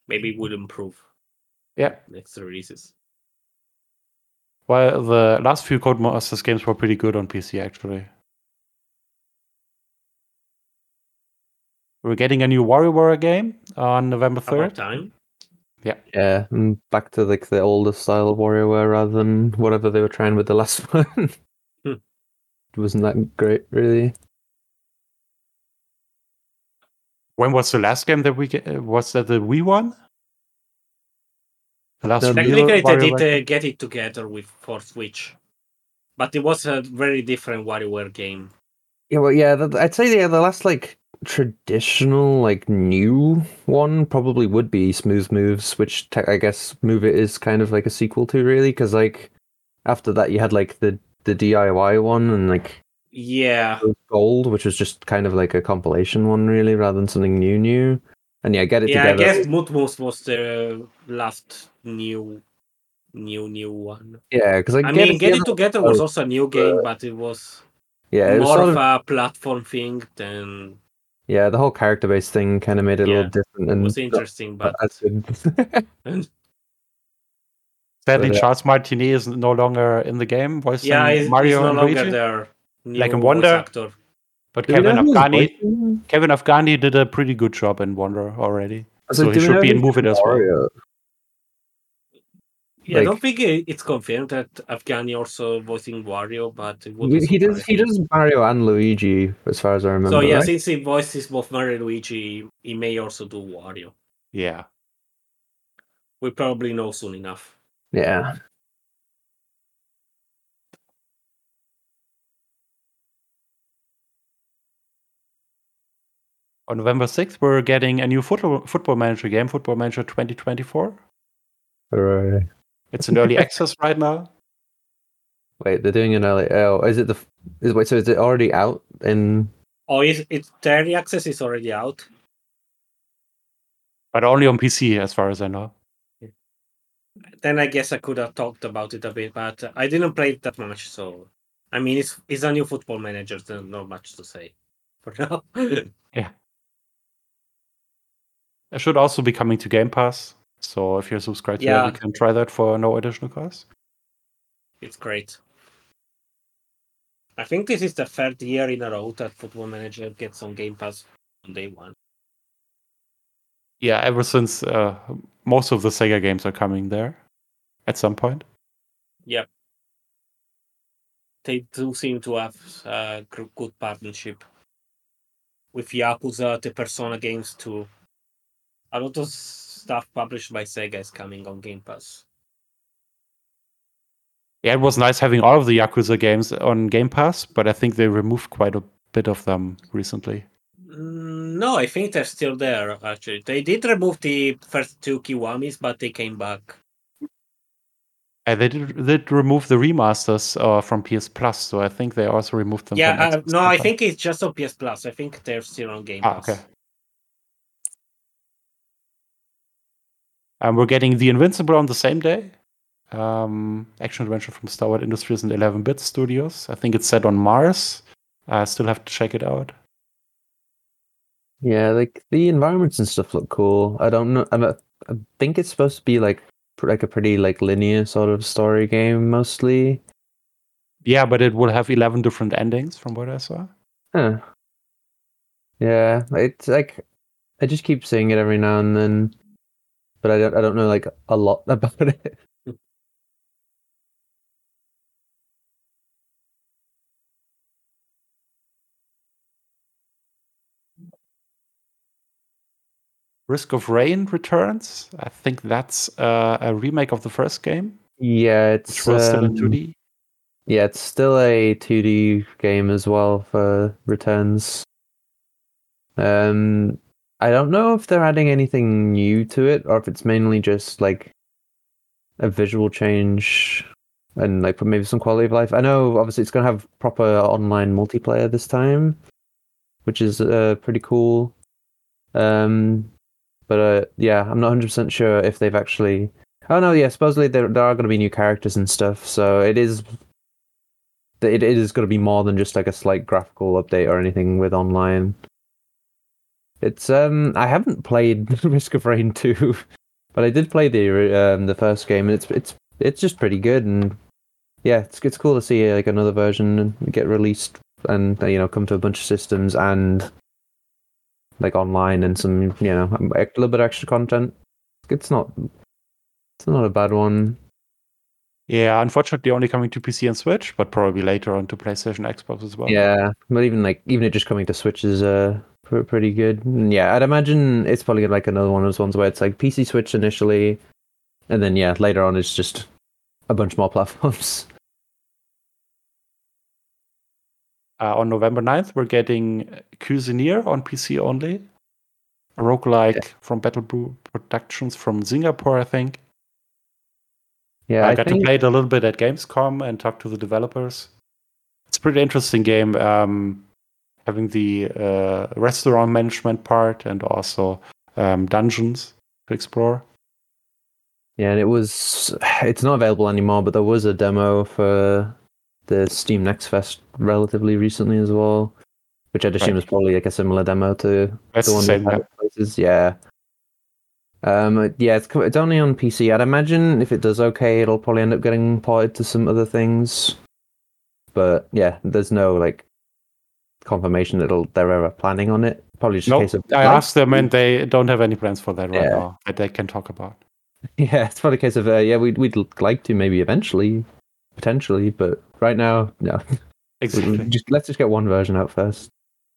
maybe it would improve Yeah. next releases. Well, the last few Codemasters games were pretty good on PC, actually. We're getting a new WarioWare game on November About 3rd. time. Yeah, and back to like the older style of WarioWare rather than whatever they were trying with the last one. Hmm. It wasn't that great, really. When was the last game that we was that the Wii one? The last No, real Technically, they WarioWare game? did get it together for Switch, but it was a very different WarioWare game. Yeah, well, yeah, I'd say the last like traditional like new one probably would be Smooth Moves, which I guess Move It is kind of like a sequel to, really, because like after that you had like the DIY one and like Yeah, Gold, which was just kind of like a compilation one, really, rather than something new. And yeah, Get It yeah. I Together. guess Mutmus was the last new one. Yeah, because I mean, Get It Together was also a new game, but it was yeah, it was more sort of of a platform thing than yeah, the whole character based thing kind of made it a Yeah, little different it and was interesting. But as good. Sadly, But, Charles Martinet is no longer in the game, voicing yeah, he's Mario no and longer Luigi. their new Like in voice Wonder. actor. But do we know Kevin who's Afghani, voicing? Kevin Afghani did a pretty good job in Wonder already. So So do he we should know be in who's Move It as well. Mario? Yeah, I don't Like- think it's confirmed that Afghani also voicing Wario, but it would He does Mario and Luigi, as far as I remember. So yeah, right? since he voices both Mario and Luigi, he may also do Wario. Yeah. We probably know soon enough. Yeah. On November 6th, we're getting a new football manager game, Football Manager 2024. Right. It's in early access right now. Wait, they're doing an early. Oh, is it wait? So is it already out in? Oh, it's the early access is already out. But only on PC, as far as I know. Then I guess I could have talked about it a bit, but I didn't play it that much. So, I mean, it's a new Football Manager. There's not much to say for now. Yeah. It should also be coming to Game Pass. So if you're subscribed to that, you can try that for no additional cost. It's great. I think this is the third year in a row that Football Manager gets on Game Pass on day one. Yeah, ever since most of the Sega games are coming there at some point. Yep. They do seem to have a good partnership with Yakuza, the Persona games too. A lot of stuff published by Sega is coming on Game Pass. Yeah, it was nice having all of the Yakuza games on Game Pass, but I think they removed quite a bit of them recently. No, I think they're still there, actually. They did remove the first two Kiwamis, but they came back. They did remove the remasters from PS Plus, so I think they also removed them from Xbox. No, I think it's just on PS Plus. I think they're still on Game Pass. Okay. We're getting The Invincible on the same day. Action-adventure from Star Wars Industries and 11-Bit Studios. I think it's set on Mars. I still have to check it out. Yeah, like the environments and stuff look cool. I don't know. I think it's supposed to be like a pretty like linear sort of story game mostly. Yeah, but it will have 11 different endings from what I saw. Huh. Yeah, it's like I just keep seeing it every now and then, but I don't know like a lot about it. Risk of Rain returns. I think that's a remake of the first game. Yeah, it's which was still in 2D. Yeah, it's still a 2D game as well for returns. I don't know if they're adding anything new to it or if it's mainly just like a visual change and like maybe some quality of life. I know obviously it's gonna have proper online multiplayer this time, which is pretty cool. But yeah, I'm not 100% sure if they've actually. Oh no, yeah, supposedly there are going to be new characters and stuff, so it is going to be more than just like a slight graphical update or anything with online. It's I haven't played Risk of Rain 2, But I did play the first game, and it's just pretty good, and yeah, it's cool to see like another version get released and come to a bunch of systems and like online and some a little bit of extra content. It's not a bad one. Yeah, unfortunately only coming to PC and Switch, but probably later on to PlayStation, Xbox as well. Yeah, but even it just coming to Switch is pretty good. And yeah, I'd imagine it's probably like another one of those ones where it's like PC, Switch initially, and then later on it's just a bunch more platforms. On November 9th, we're getting Cuisinier on PC only. A roguelike from Battle Brew Productions from Singapore, I think. Yeah, I got to play it a little bit at Gamescom and talk to the developers. It's a pretty interesting game, having the restaurant management part and also dungeons to explore. Yeah, and it's not available anymore, but there was a demo for the Steam Next Fest relatively recently as well, which I'd assume is probably like a similar demo to That's the one same, we've had at places. Yeah. It's only on PC. I'd imagine if it does okay, it'll probably end up getting ported to some other things. But yeah, there's no like confirmation that they're ever planning on it. Probably just a case of I asked them and they don't have any plans for that right now that they can talk about. Yeah, it's probably a case of we'd like to maybe eventually, potentially, but right now, no. Exactly. Let's just get one version out first.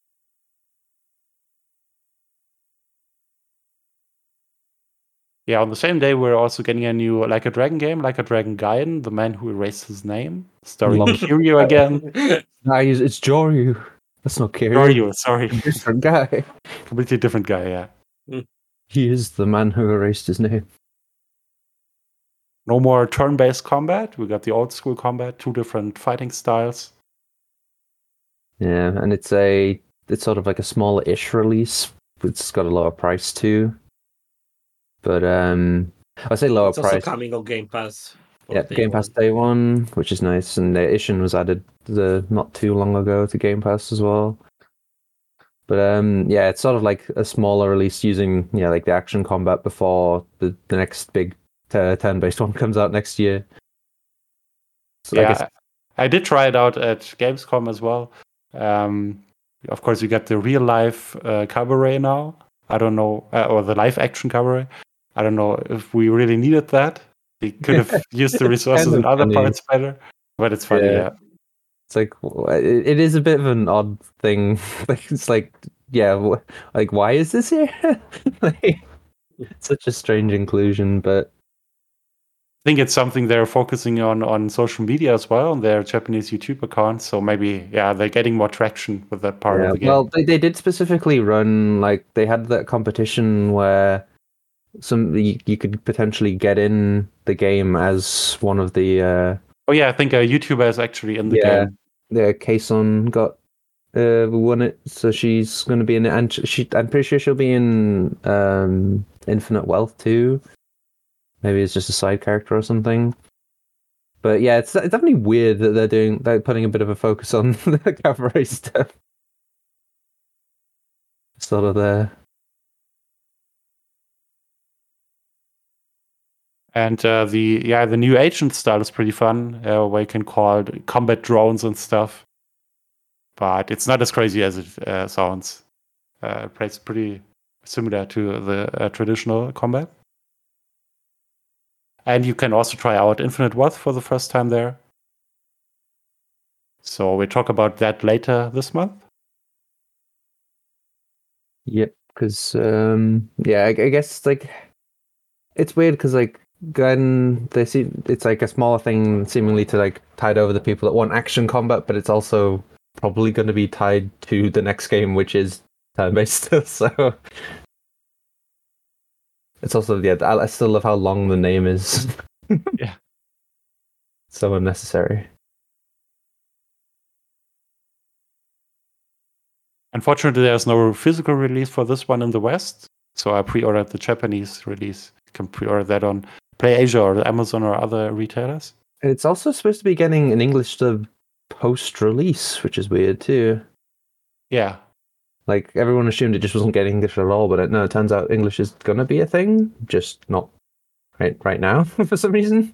Yeah, on the same day, we're also getting a new Like a Dragon game, Like a Dragon Gaiden, The Man Who Erased His Name, starring Kiryu again. It's Joryu. That's not Kiryu. Joryu, sorry. Different guy. Completely different guy, yeah. He is the man who erased his name. No more turn-based combat. We got the old school combat, 2 different fighting styles. Yeah, and it's sort of like a smaller-ish release. It's got a lower price too. But I say lower price. It's also coming on Game Pass. Yeah, Game Pass Day 1, which is nice, and the Ishin was added not too long ago to Game Pass as well. But it's sort of like a smaller release using like the action combat before the next big turn-based one comes out next year. So I did try it out at Gamescom as well. Of course, you get the real-life cabaret now. I don't know, or the live-action cabaret. I don't know if we really needed that. We could have used the resources in other parts better, but it's funny, yeah. It's like, it is a bit of an odd thing. Like, it's like, like, why is this here? Like, such a strange inclusion, but I think it's something they're focusing on social media as well, on their Japanese YouTube accounts. So maybe, they're getting more traction with that part of the game. Well, they did specifically run, like, they had that competition where you could potentially get in the game as one of the... I think a YouTuber is actually in the game. Yeah, Kason won it, so she's going to be in it, and I'm pretty sure she'll be in Infinite Wealth too. Maybe it's just a side character or something. But yeah, it's definitely weird that they're putting a bit of a focus on the cabaret stuff. Sort of there. And the new agent style is pretty fun, where you can call combat drones and stuff. But it's not as crazy as it sounds. It's pretty similar to the traditional combat. And you can also try out Infinite Wealth for the first time there. So we'll talk about that later this month. Yep, because I guess like it's weird because like Gaiden, it's like a smaller thing seemingly to like tide over the people that want action combat, but it's also probably going to be tied to the next game, which is turn-based still. So it's also I still love how long the name is. Yeah, so unnecessary. Unfortunately, there's no physical release for this one in the West, so I pre-ordered the Japanese release. You can pre-order that on PlayAsia or Amazon or other retailers. And it's also supposed to be getting an English dub post-release, which is weird too. Yeah. Like, everyone assumed it just wasn't getting English at all, but no, it turns out English is going to be a thing, just not right now for some reason.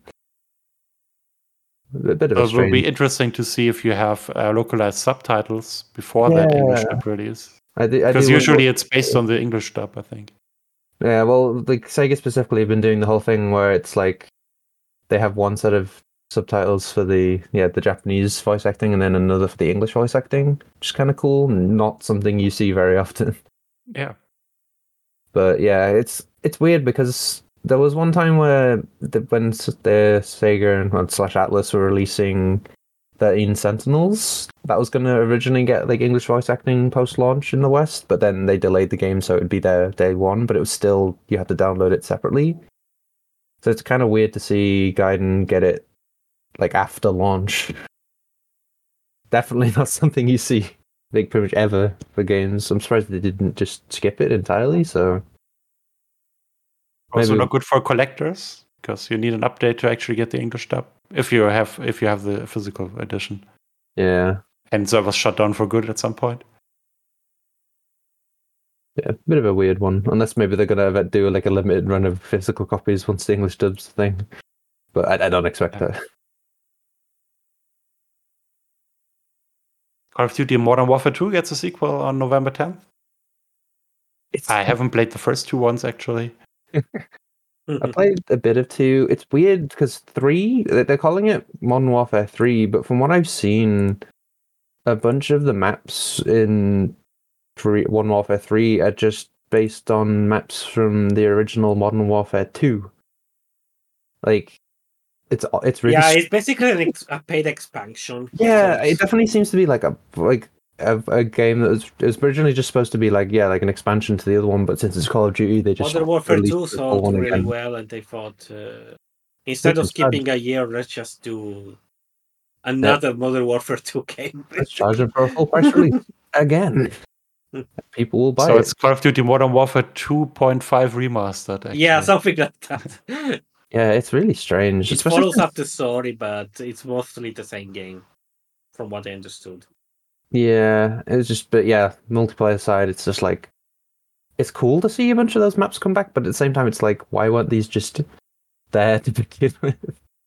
A bit of a It will strange. be interesting to see if you have localized subtitles before that English dub release. Because usually it's based on the English dub, I think. Yeah, well, like Sega specifically have been doing the whole thing where it's like they have one set of subtitles for the Japanese voice acting and then another for the English voice acting, which is kind of cool. Not something you see very often. Yeah. But yeah, it's weird because there was one time where when the Sega and /Atlas were releasing 13 Sentinels, that was going to originally get like English voice acting post-launch in the West, but then they delayed the game so it would be there day one, but it was still, you had to download it separately. So it's kind of weird to see Gaiden get it like after launch. Definitely not something you see like pretty much ever for games. I'm surprised they didn't just skip it entirely, so... Also not good for collectors, because you need an update to actually get the English dub if you have the physical edition. Yeah. And servers shut down for good at some point. Yeah, a bit of a weird one. Unless maybe they're gonna do like a limited run of physical copies once the English dub's thing. But I don't expect that. Call of Duty Modern Warfare 2 gets a sequel on November 10th. I haven't played the first two ones actually. I played a bit of 2. It's weird because 3, they're calling it Modern Warfare 3, but from what I've seen, a bunch of the maps in Modern Warfare 3 are just based on maps from the original Modern Warfare 2. Like, it's really... Yeah, it's basically a paid expansion. Yeah, it definitely seems to be like a game that was originally just supposed to be like an expansion to the other one, but since it's Call of Duty, they just Modern Warfare 2 released the whole sold one really again. well, and they thought instead of skipping a year, let's just do another Modern Warfare 2 game. Let's charge them for a full price release again. People will buy it. So it's Call of Duty Modern Warfare 2.5 remastered. Actually. Yeah, something like that. Yeah, it's really strange. It follows up the story, but it's mostly the same game, from what I understood. Yeah, it's just, but yeah, multiplayer side, it's just like, it's cool to see a bunch of those maps come back, but at the same time, it's like, why weren't these just there to begin with?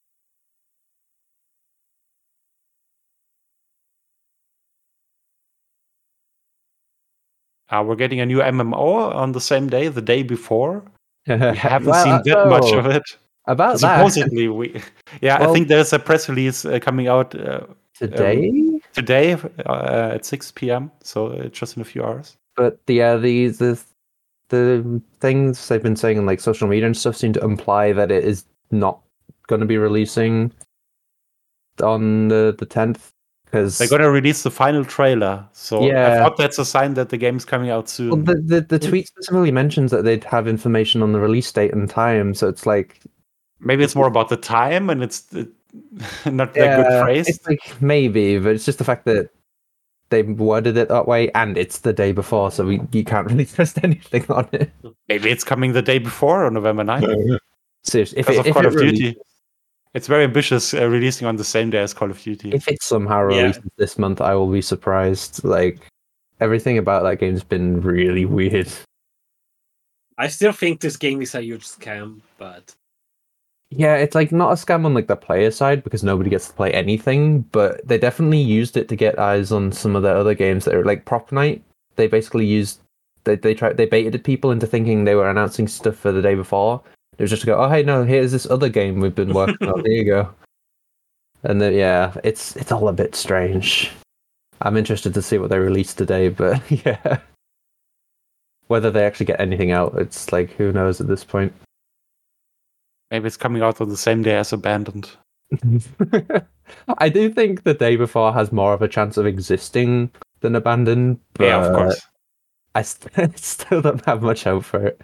We're getting a new MMO on the same day, the day before. We haven't Well, seen that much of it. About Supposedly, that. I think there's a press release coming out today at 6 p.m. So just in a few hours. But the things they've been saying on like social media and stuff seem to imply that it is not going to be releasing on the 10th. Because they're going to release the final trailer, so I thought that's a sign that the game's coming out soon. Well, the tweet specifically mentions that they'd have information on the release date and time, so it's like maybe it's more about the time, and it's not that good phrase. It's like maybe, but it's just the fact that they worded it that way, and it's the day before, so you can't really trust anything on it. Maybe it's coming the day before on November 9th. Seriously, if Call of Duty. It's very ambitious releasing on the same day as Call of Duty. If it somehow releases this month, I will be surprised. Like, everything about that game's been really weird. I still think this game is a huge scam, but... Yeah, it's like not a scam on like the player side because nobody gets to play anything, but they definitely used it to get eyes on some of their other games that are like Prop Night. They basically used... They baited people into thinking they were announcing stuff for the day before. It was just to go, oh, hey, no, here's this other game we've been working on. There you go. And then, yeah, it's all a bit strange. I'm interested to see what they release today, but yeah. Whether they actually get anything out, it's like, who knows at this point. Maybe it's coming out on the same day as Abandoned. I do think the day before has more of a chance of existing than Abandoned. But yeah, of course. I still don't have much hope for it.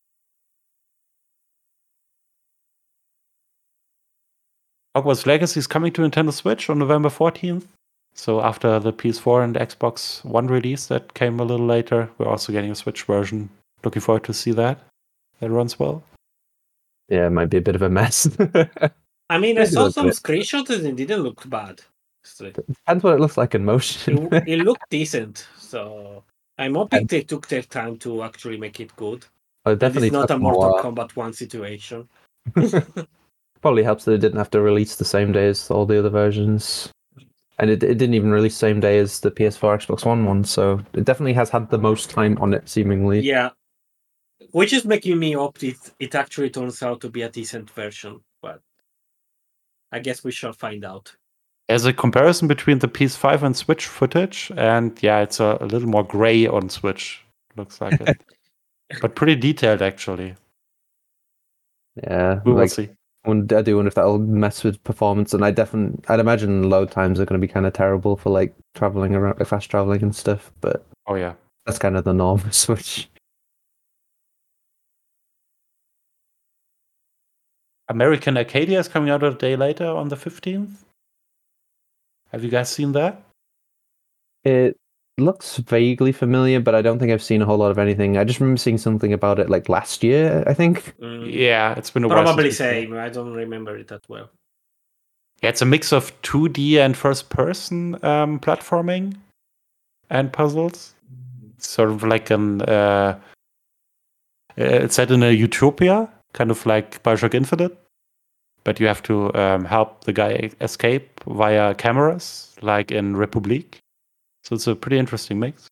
Hogwarts Legacy is coming to Nintendo Switch on November 14th. So after the PS4 and Xbox One release that came a little later, we're also getting a Switch version. Looking forward to see that. That runs well. Yeah, it might be a bit of a mess. I mean, I saw some screenshots and it didn't look bad. Depends what it looks like in motion. It looked decent, so I'm hoping they took their time to actually make it good. Definitely it's not a Mortal Kombat 1 situation. Probably helps that it didn't have to release the same day as all the other versions. And it didn't even release the same day as the PS4 Xbox One, so it definitely has had the most time on it, seemingly. Yeah. Which is making me hope it actually turns out to be a decent version, but I guess we shall find out. There's a comparison between the PS5 and Switch footage, and yeah, it's a little more gray on Switch. Looks like it. But pretty detailed, actually. Yeah, We will see. I do wonder if that'll mess with performance, and I'd imagine load times are going to be kind of terrible for like traveling around, fast traveling and stuff. But oh yeah, that's kind of the norm for Switch. American Arcadia is coming out a day later on the 15th. Have you guys seen that? It looks vaguely familiar, but I don't think I've seen a whole lot of anything. I just remember seeing something about it like last year, I think. Yeah, it's been a while. Probably same. I don't remember it that well. Yeah, it's a mix of 2D and first-person platforming and puzzles. It's sort of like it's set in a utopia, kind of like Bioshock Infinite, but you have to help the guy escape via cameras, like in Republic. So it's a pretty interesting mix.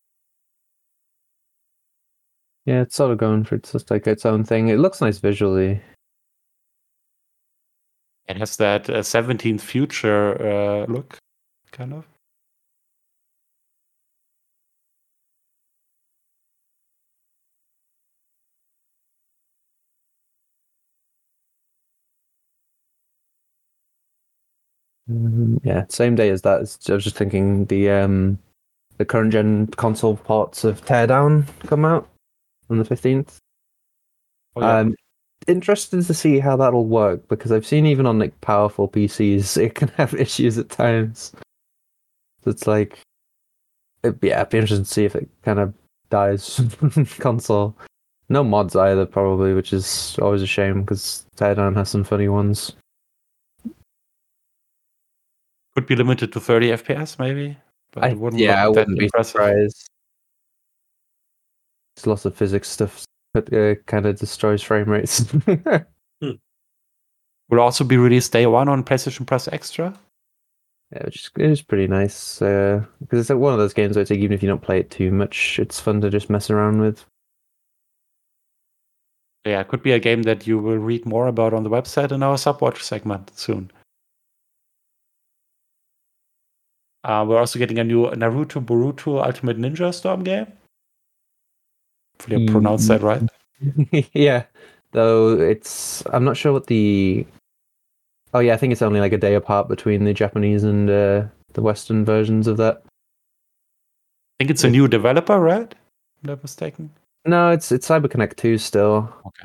Yeah, it's sort of going for just like its own thing. It looks nice visually. It has that 17th future look, kind of. Yeah, same day as that. I was just thinking the current gen console ports of Teardown come out on the 15th. Oh, yeah. I'm interested to see how that'll work, because I've seen even on like powerful PCs it can have issues at times. So it's like, it'd be interesting to see if it kind of dies console. No mods either, probably, which is always a shame because Teardown has some funny ones. Could be limited to 30 FPS, maybe. But it wouldn't look I that wouldn't be impressive. surprised. There's lots of physics stuff that kind of destroys frame rates. Will also be released day one on PlayStation Plus Extra. Yeah, it is pretty nice because it's like one of those games where it's like, even if you don't play it too much, it's fun to just mess around with. Yeah, it could be a game that you will read more about on the website in our Subwatch segment soon. We're also getting a new Naruto Boruto Ultimate Ninja Storm game. Hopefully I pronounced that right. Yeah, though I'm not sure what the... Oh yeah, I think it's only like a day apart between the Japanese and the Western versions of that. I think it's a new developer, right? If I'm not mistaken. No, it's CyberConnect 2 still. Okay.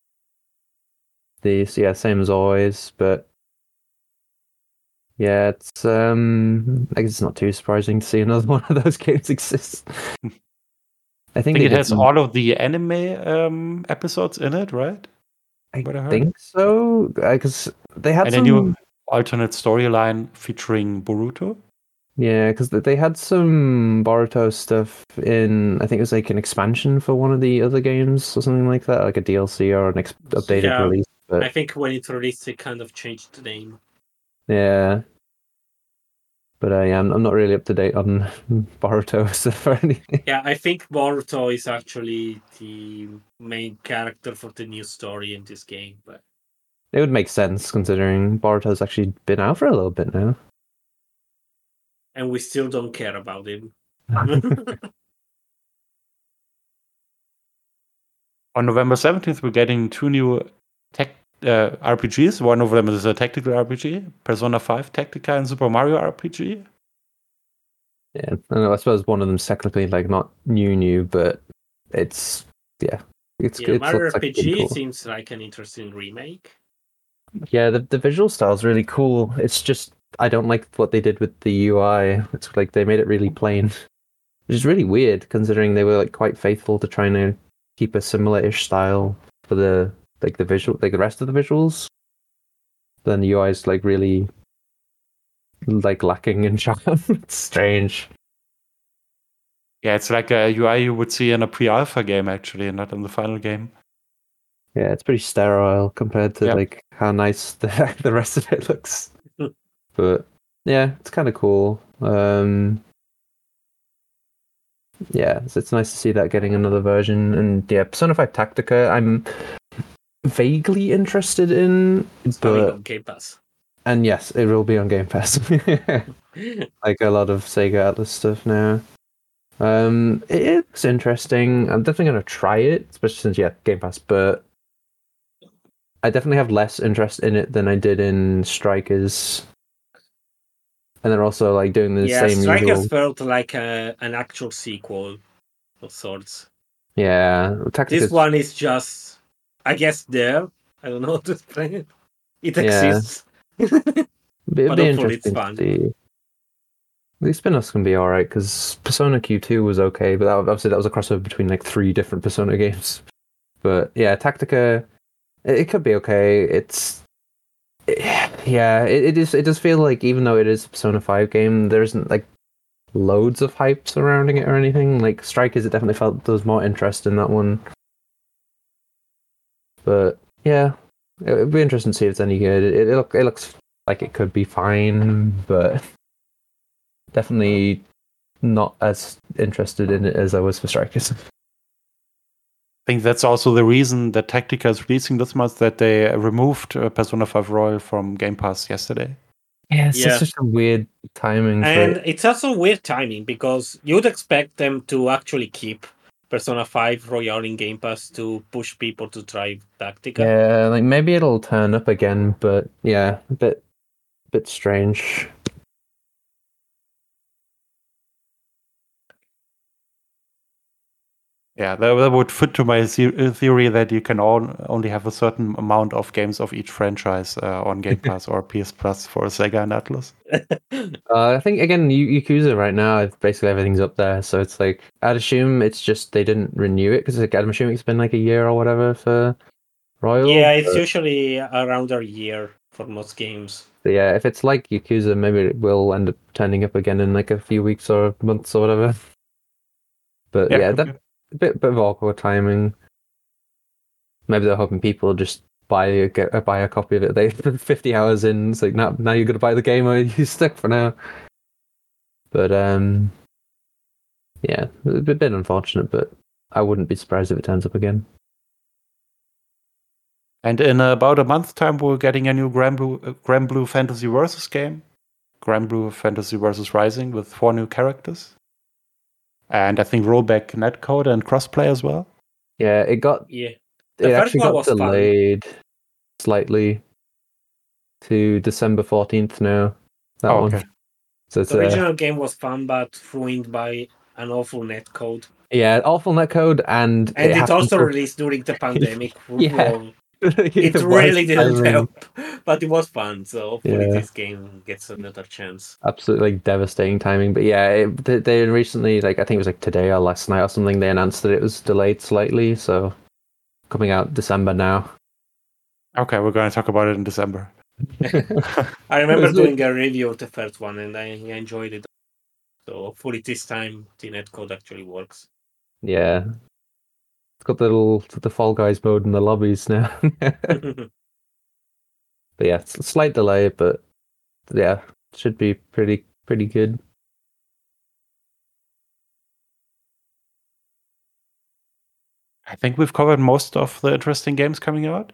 Same as always, but yeah, it's I guess it's not too surprising to see another one of those games exist. I think it has all of the anime episodes in it, right? I think so, because they had a new alternate storyline featuring Boruto. Yeah, because they had some Boruto stuff in, I think it was like an expansion for one of the other games or something like that, like a DLC or an updated release. But I think when it released, it kind of changed the name. Yeah. But I'm not really up to date on Boruto stuff or anything. Yeah, I think Boruto is actually the main character for the new story in this game. But it would make sense considering Boruto's actually been out for a little bit now. And we still don't care about him. On November 17th, we're getting 2 new RPGs. One of them is a tactical RPG, Persona 5 Tactica and Super Mario RPG. Yeah, I suppose one of them's technically like not new, but it's Mario RPG seems like an interesting remake. Yeah, the visual style is really cool. It's just I don't like what they did with the UI. It's like they made it really plain, which is really weird considering they were like quite faithful to trying to keep a similar-ish style for the visual, like the rest of the visuals. Then the UI is like really like lacking in charm. It's strange. Yeah, it's like a UI you would see in a pre-alpha game actually, not in the final game. Yeah, it's pretty sterile compared to Yeah. like how nice the rest of it looks. But yeah, it's kind of cool. Yeah, it's nice to see that getting another version. And yeah, Persona 5 Tactica, I'm vaguely interested in, It's coming but on Game Pass. and yes, it will be on Game Pass. Like a lot of Sega Atlas stuff now. It looks interesting. I'm definitely gonna try it, especially since Game Pass. But I definitely have less interest in it than I did in Strikers. And they're also like doing the Yeah, same Strikers usual. felt like an actual sequel of sorts. Yeah, This Tactica's one is just, I guess, there. I don't know how to explain it. It yeah. exists. It'd But be hopefully it's interesting to fun. see. These spin-offs can be alright because Persona Q2 was okay, but obviously that was a crossover between like 3 different Persona games. But yeah, Tactica, it could be okay. It does feel like even though it is a Persona 5 game, there isn't like loads of hype surrounding it or anything. Like Strikers, it definitely felt there was more interest in that one. But yeah, it'd be interesting to see if it's any good. It looks like it could be fine, but definitely not as interested in it as I was for Strikers. I think that's also the reason that Tactica is releasing this month, that they removed Persona 5 Royal from Game Pass yesterday. Yeah, it's Yeah. such a weird timing for And it. it's also weird timing because you'd expect them to actually keep Persona 5 Royal in Game Pass to push people to try Tactica. Yeah, like maybe it'll turn up again, but yeah, a bit strange. Yeah, that would fit to my theory that you can only have a certain amount of games of each franchise on Game Pass or PS Plus for Sega and Atlas. I think again, Yakuza right now, basically everything's up there. So it's like I'd assume it's just they didn't renew it because I'm assuming it's been like a year or whatever for Royal. Yeah, it's but usually around a year for most games. yeah, if it's like Yakuza, maybe it will end up turning up again in like a few weeks or months or whatever. But yeah, could that be. bit of awkward timing. Maybe they're hoping people just buy a copy of it. They 50 hours in. It's like now you're gonna buy the game or you stuck for now. But yeah, a bit unfortunate. But I wouldn't be surprised if it turns up again. And in about a month's time, we're getting a new Granblue Fantasy Versus game. Granblue Fantasy Versus Rising with 4 new characters. And I think rollback netcode and crossplay as well. Yeah, it The first actually one got was fun. delayed slightly to December 14th now. That one. Okay. So it's The original game was fun, but ruined by an awful netcode. yeah, awful netcode, and And it happened also for- released during the pandemic. Yeah. Well, it was really didn't timing. help, but it was fun. So hopefully Yeah. this game gets another chance. Absolutely like devastating timing. But yeah, they recently, like I think it was like today or last night or something, they announced that it was delayed slightly, so coming out December now. Okay, we're going to talk about it in December. I remember doing a review of the first one, and I enjoyed it. So hopefully this time the netcode actually works. Yeah. It's got the Fall Guys mode in the lobbies now. But yeah, it's a slight delay, but yeah, should be pretty good. I think we've covered most of the interesting games coming out.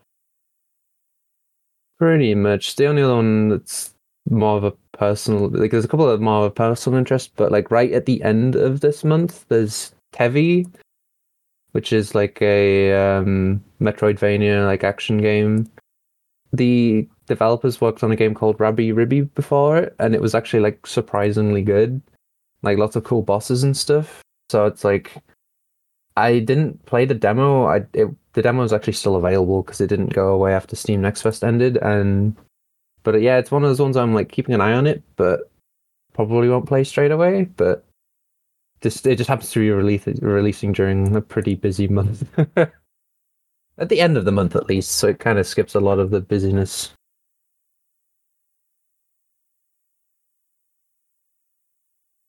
Pretty much. The only other one that's more of a personal, like there's a couple of more of a personal interest, but like right at the end of this month, there's Tevi, which is like a Metroidvania like action game. The developers worked on a game called Rabbi Ribby before it, and it was actually like surprisingly good. Like lots of cool bosses and stuff. So it's like I didn't play the demo. The demo is actually still available because it didn't go away after Steam Next Fest ended. But yeah, it's one of those ones I'm like keeping an eye on it, but probably won't play straight away. But it just happens to be releasing during a pretty busy month. At the end of the month, at least, so it kind of skips a lot of the busyness.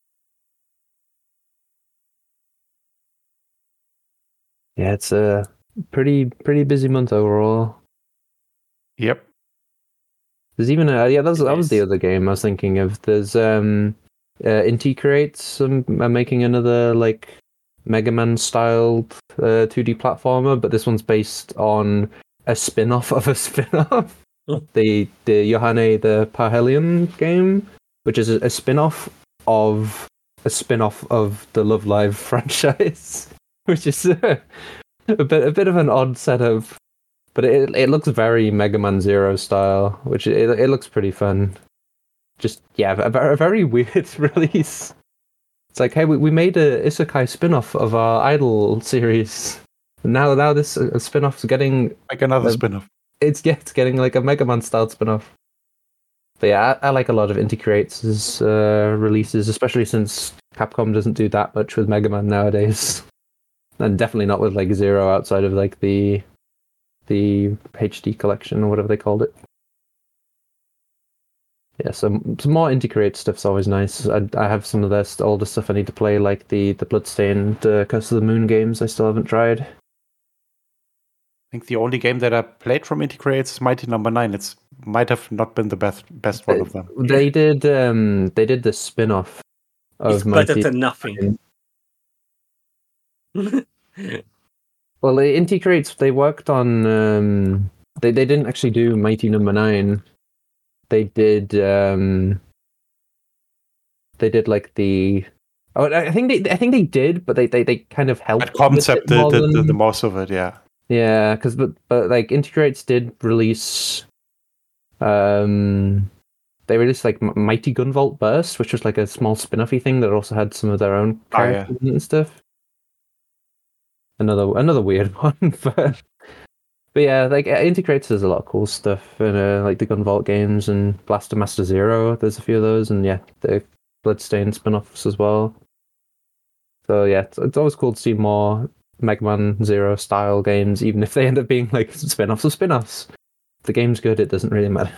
Yeah, it's pretty busy month overall. Yep. There's even that was the Yes. other game I was thinking of. There's Inti Creates are making another like Mega Man styled 2D platformer, but this one's based on a spin-off of a spin-off. the Yohane the Parhelion game, which is a spin-off of a spin-off of the Love Live franchise, which is a bit of an odd setup. But it looks very Mega Man Zero style, which it looks pretty fun. Just a very weird release. It's like, hey, we made a isekai spin-off of our Idol series. And now this spin-off's getting Like another spin-off. it's getting like a Mega Man style spin-off. But yeah, I like a lot of Inti Creates' releases, especially since Capcom doesn't do that much with Mega Man nowadays, and definitely not with like Zero outside of like the HD collection or whatever they called it. Yeah, some more Inti Creates stuff's always nice. I have some of their older stuff I need to play, like the Bloodstained Curse of the Moon games. I still haven't tried. I think the only game that I played from Inti Creates is Mighty Number 9. It might have not been the best one of them. They did the spin-off of It's better Mighty. than nothing. Well, Inti Creates, they worked on. They didn't actually do Mighty Number 9. They did. They did like the. Oh, I think they did, but they kind of helped. That concept with it more the than- most of it, yeah. Yeah, because but like Inti Creates did release. They released like Mighty Gunvolt Burst, which was like a small spin-offy thing that also had some of their own Oh, yeah. characters and stuff. Another weird one, but yeah, like Inti Creates does a lot of cool stuff, and like the Gunvolt games and Blaster Master Zero. There's a few of those, and yeah, the Bloodstained spin-offs as well. So yeah, it's always cool to see more Mega Man Zero style games, even if they end up being like spin-offs of spin-offs. If the game's good, it doesn't really matter.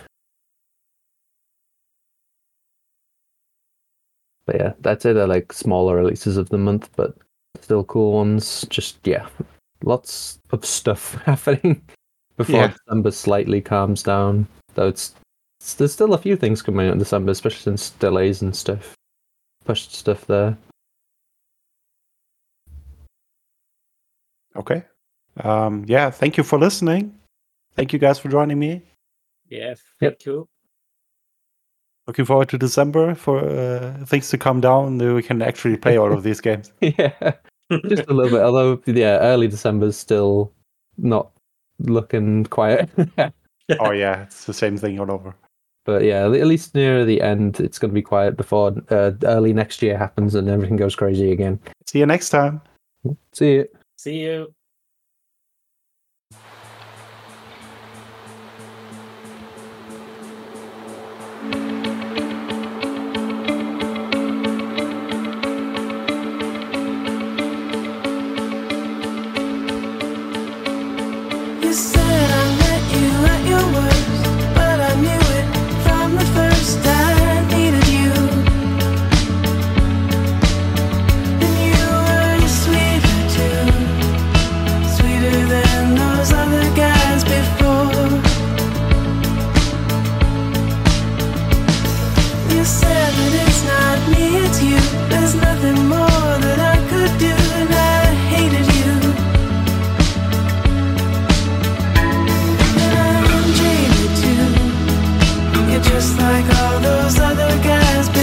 But yeah, that's it. They're like smaller releases of the month, but still cool ones. Just lots of stuff happening before Yeah. December slightly calms down. Though there's still a few things coming out in December, especially since delays and stuff pushed stuff there. Okay. Yeah, thank you for listening. Thank you guys for joining me. Yeah, Yep. thank you. Looking forward to December for things to calm down. We can actually play all of these games. Yeah, just a little bit. Although yeah, early December's still not looking quiet. Oh yeah, it's the same thing all over. But yeah, at least near the end, it's going to be quiet before early next year happens and everything goes crazy again. See you next time. See you. See you. You said I met you at your worst, but I knew it from the first. I needed you, and you were sweeter too, sweeter than those other guys before. You said that it's not me, it's you. There's nothing more that I could do, and I hated you. You're just like all those other guys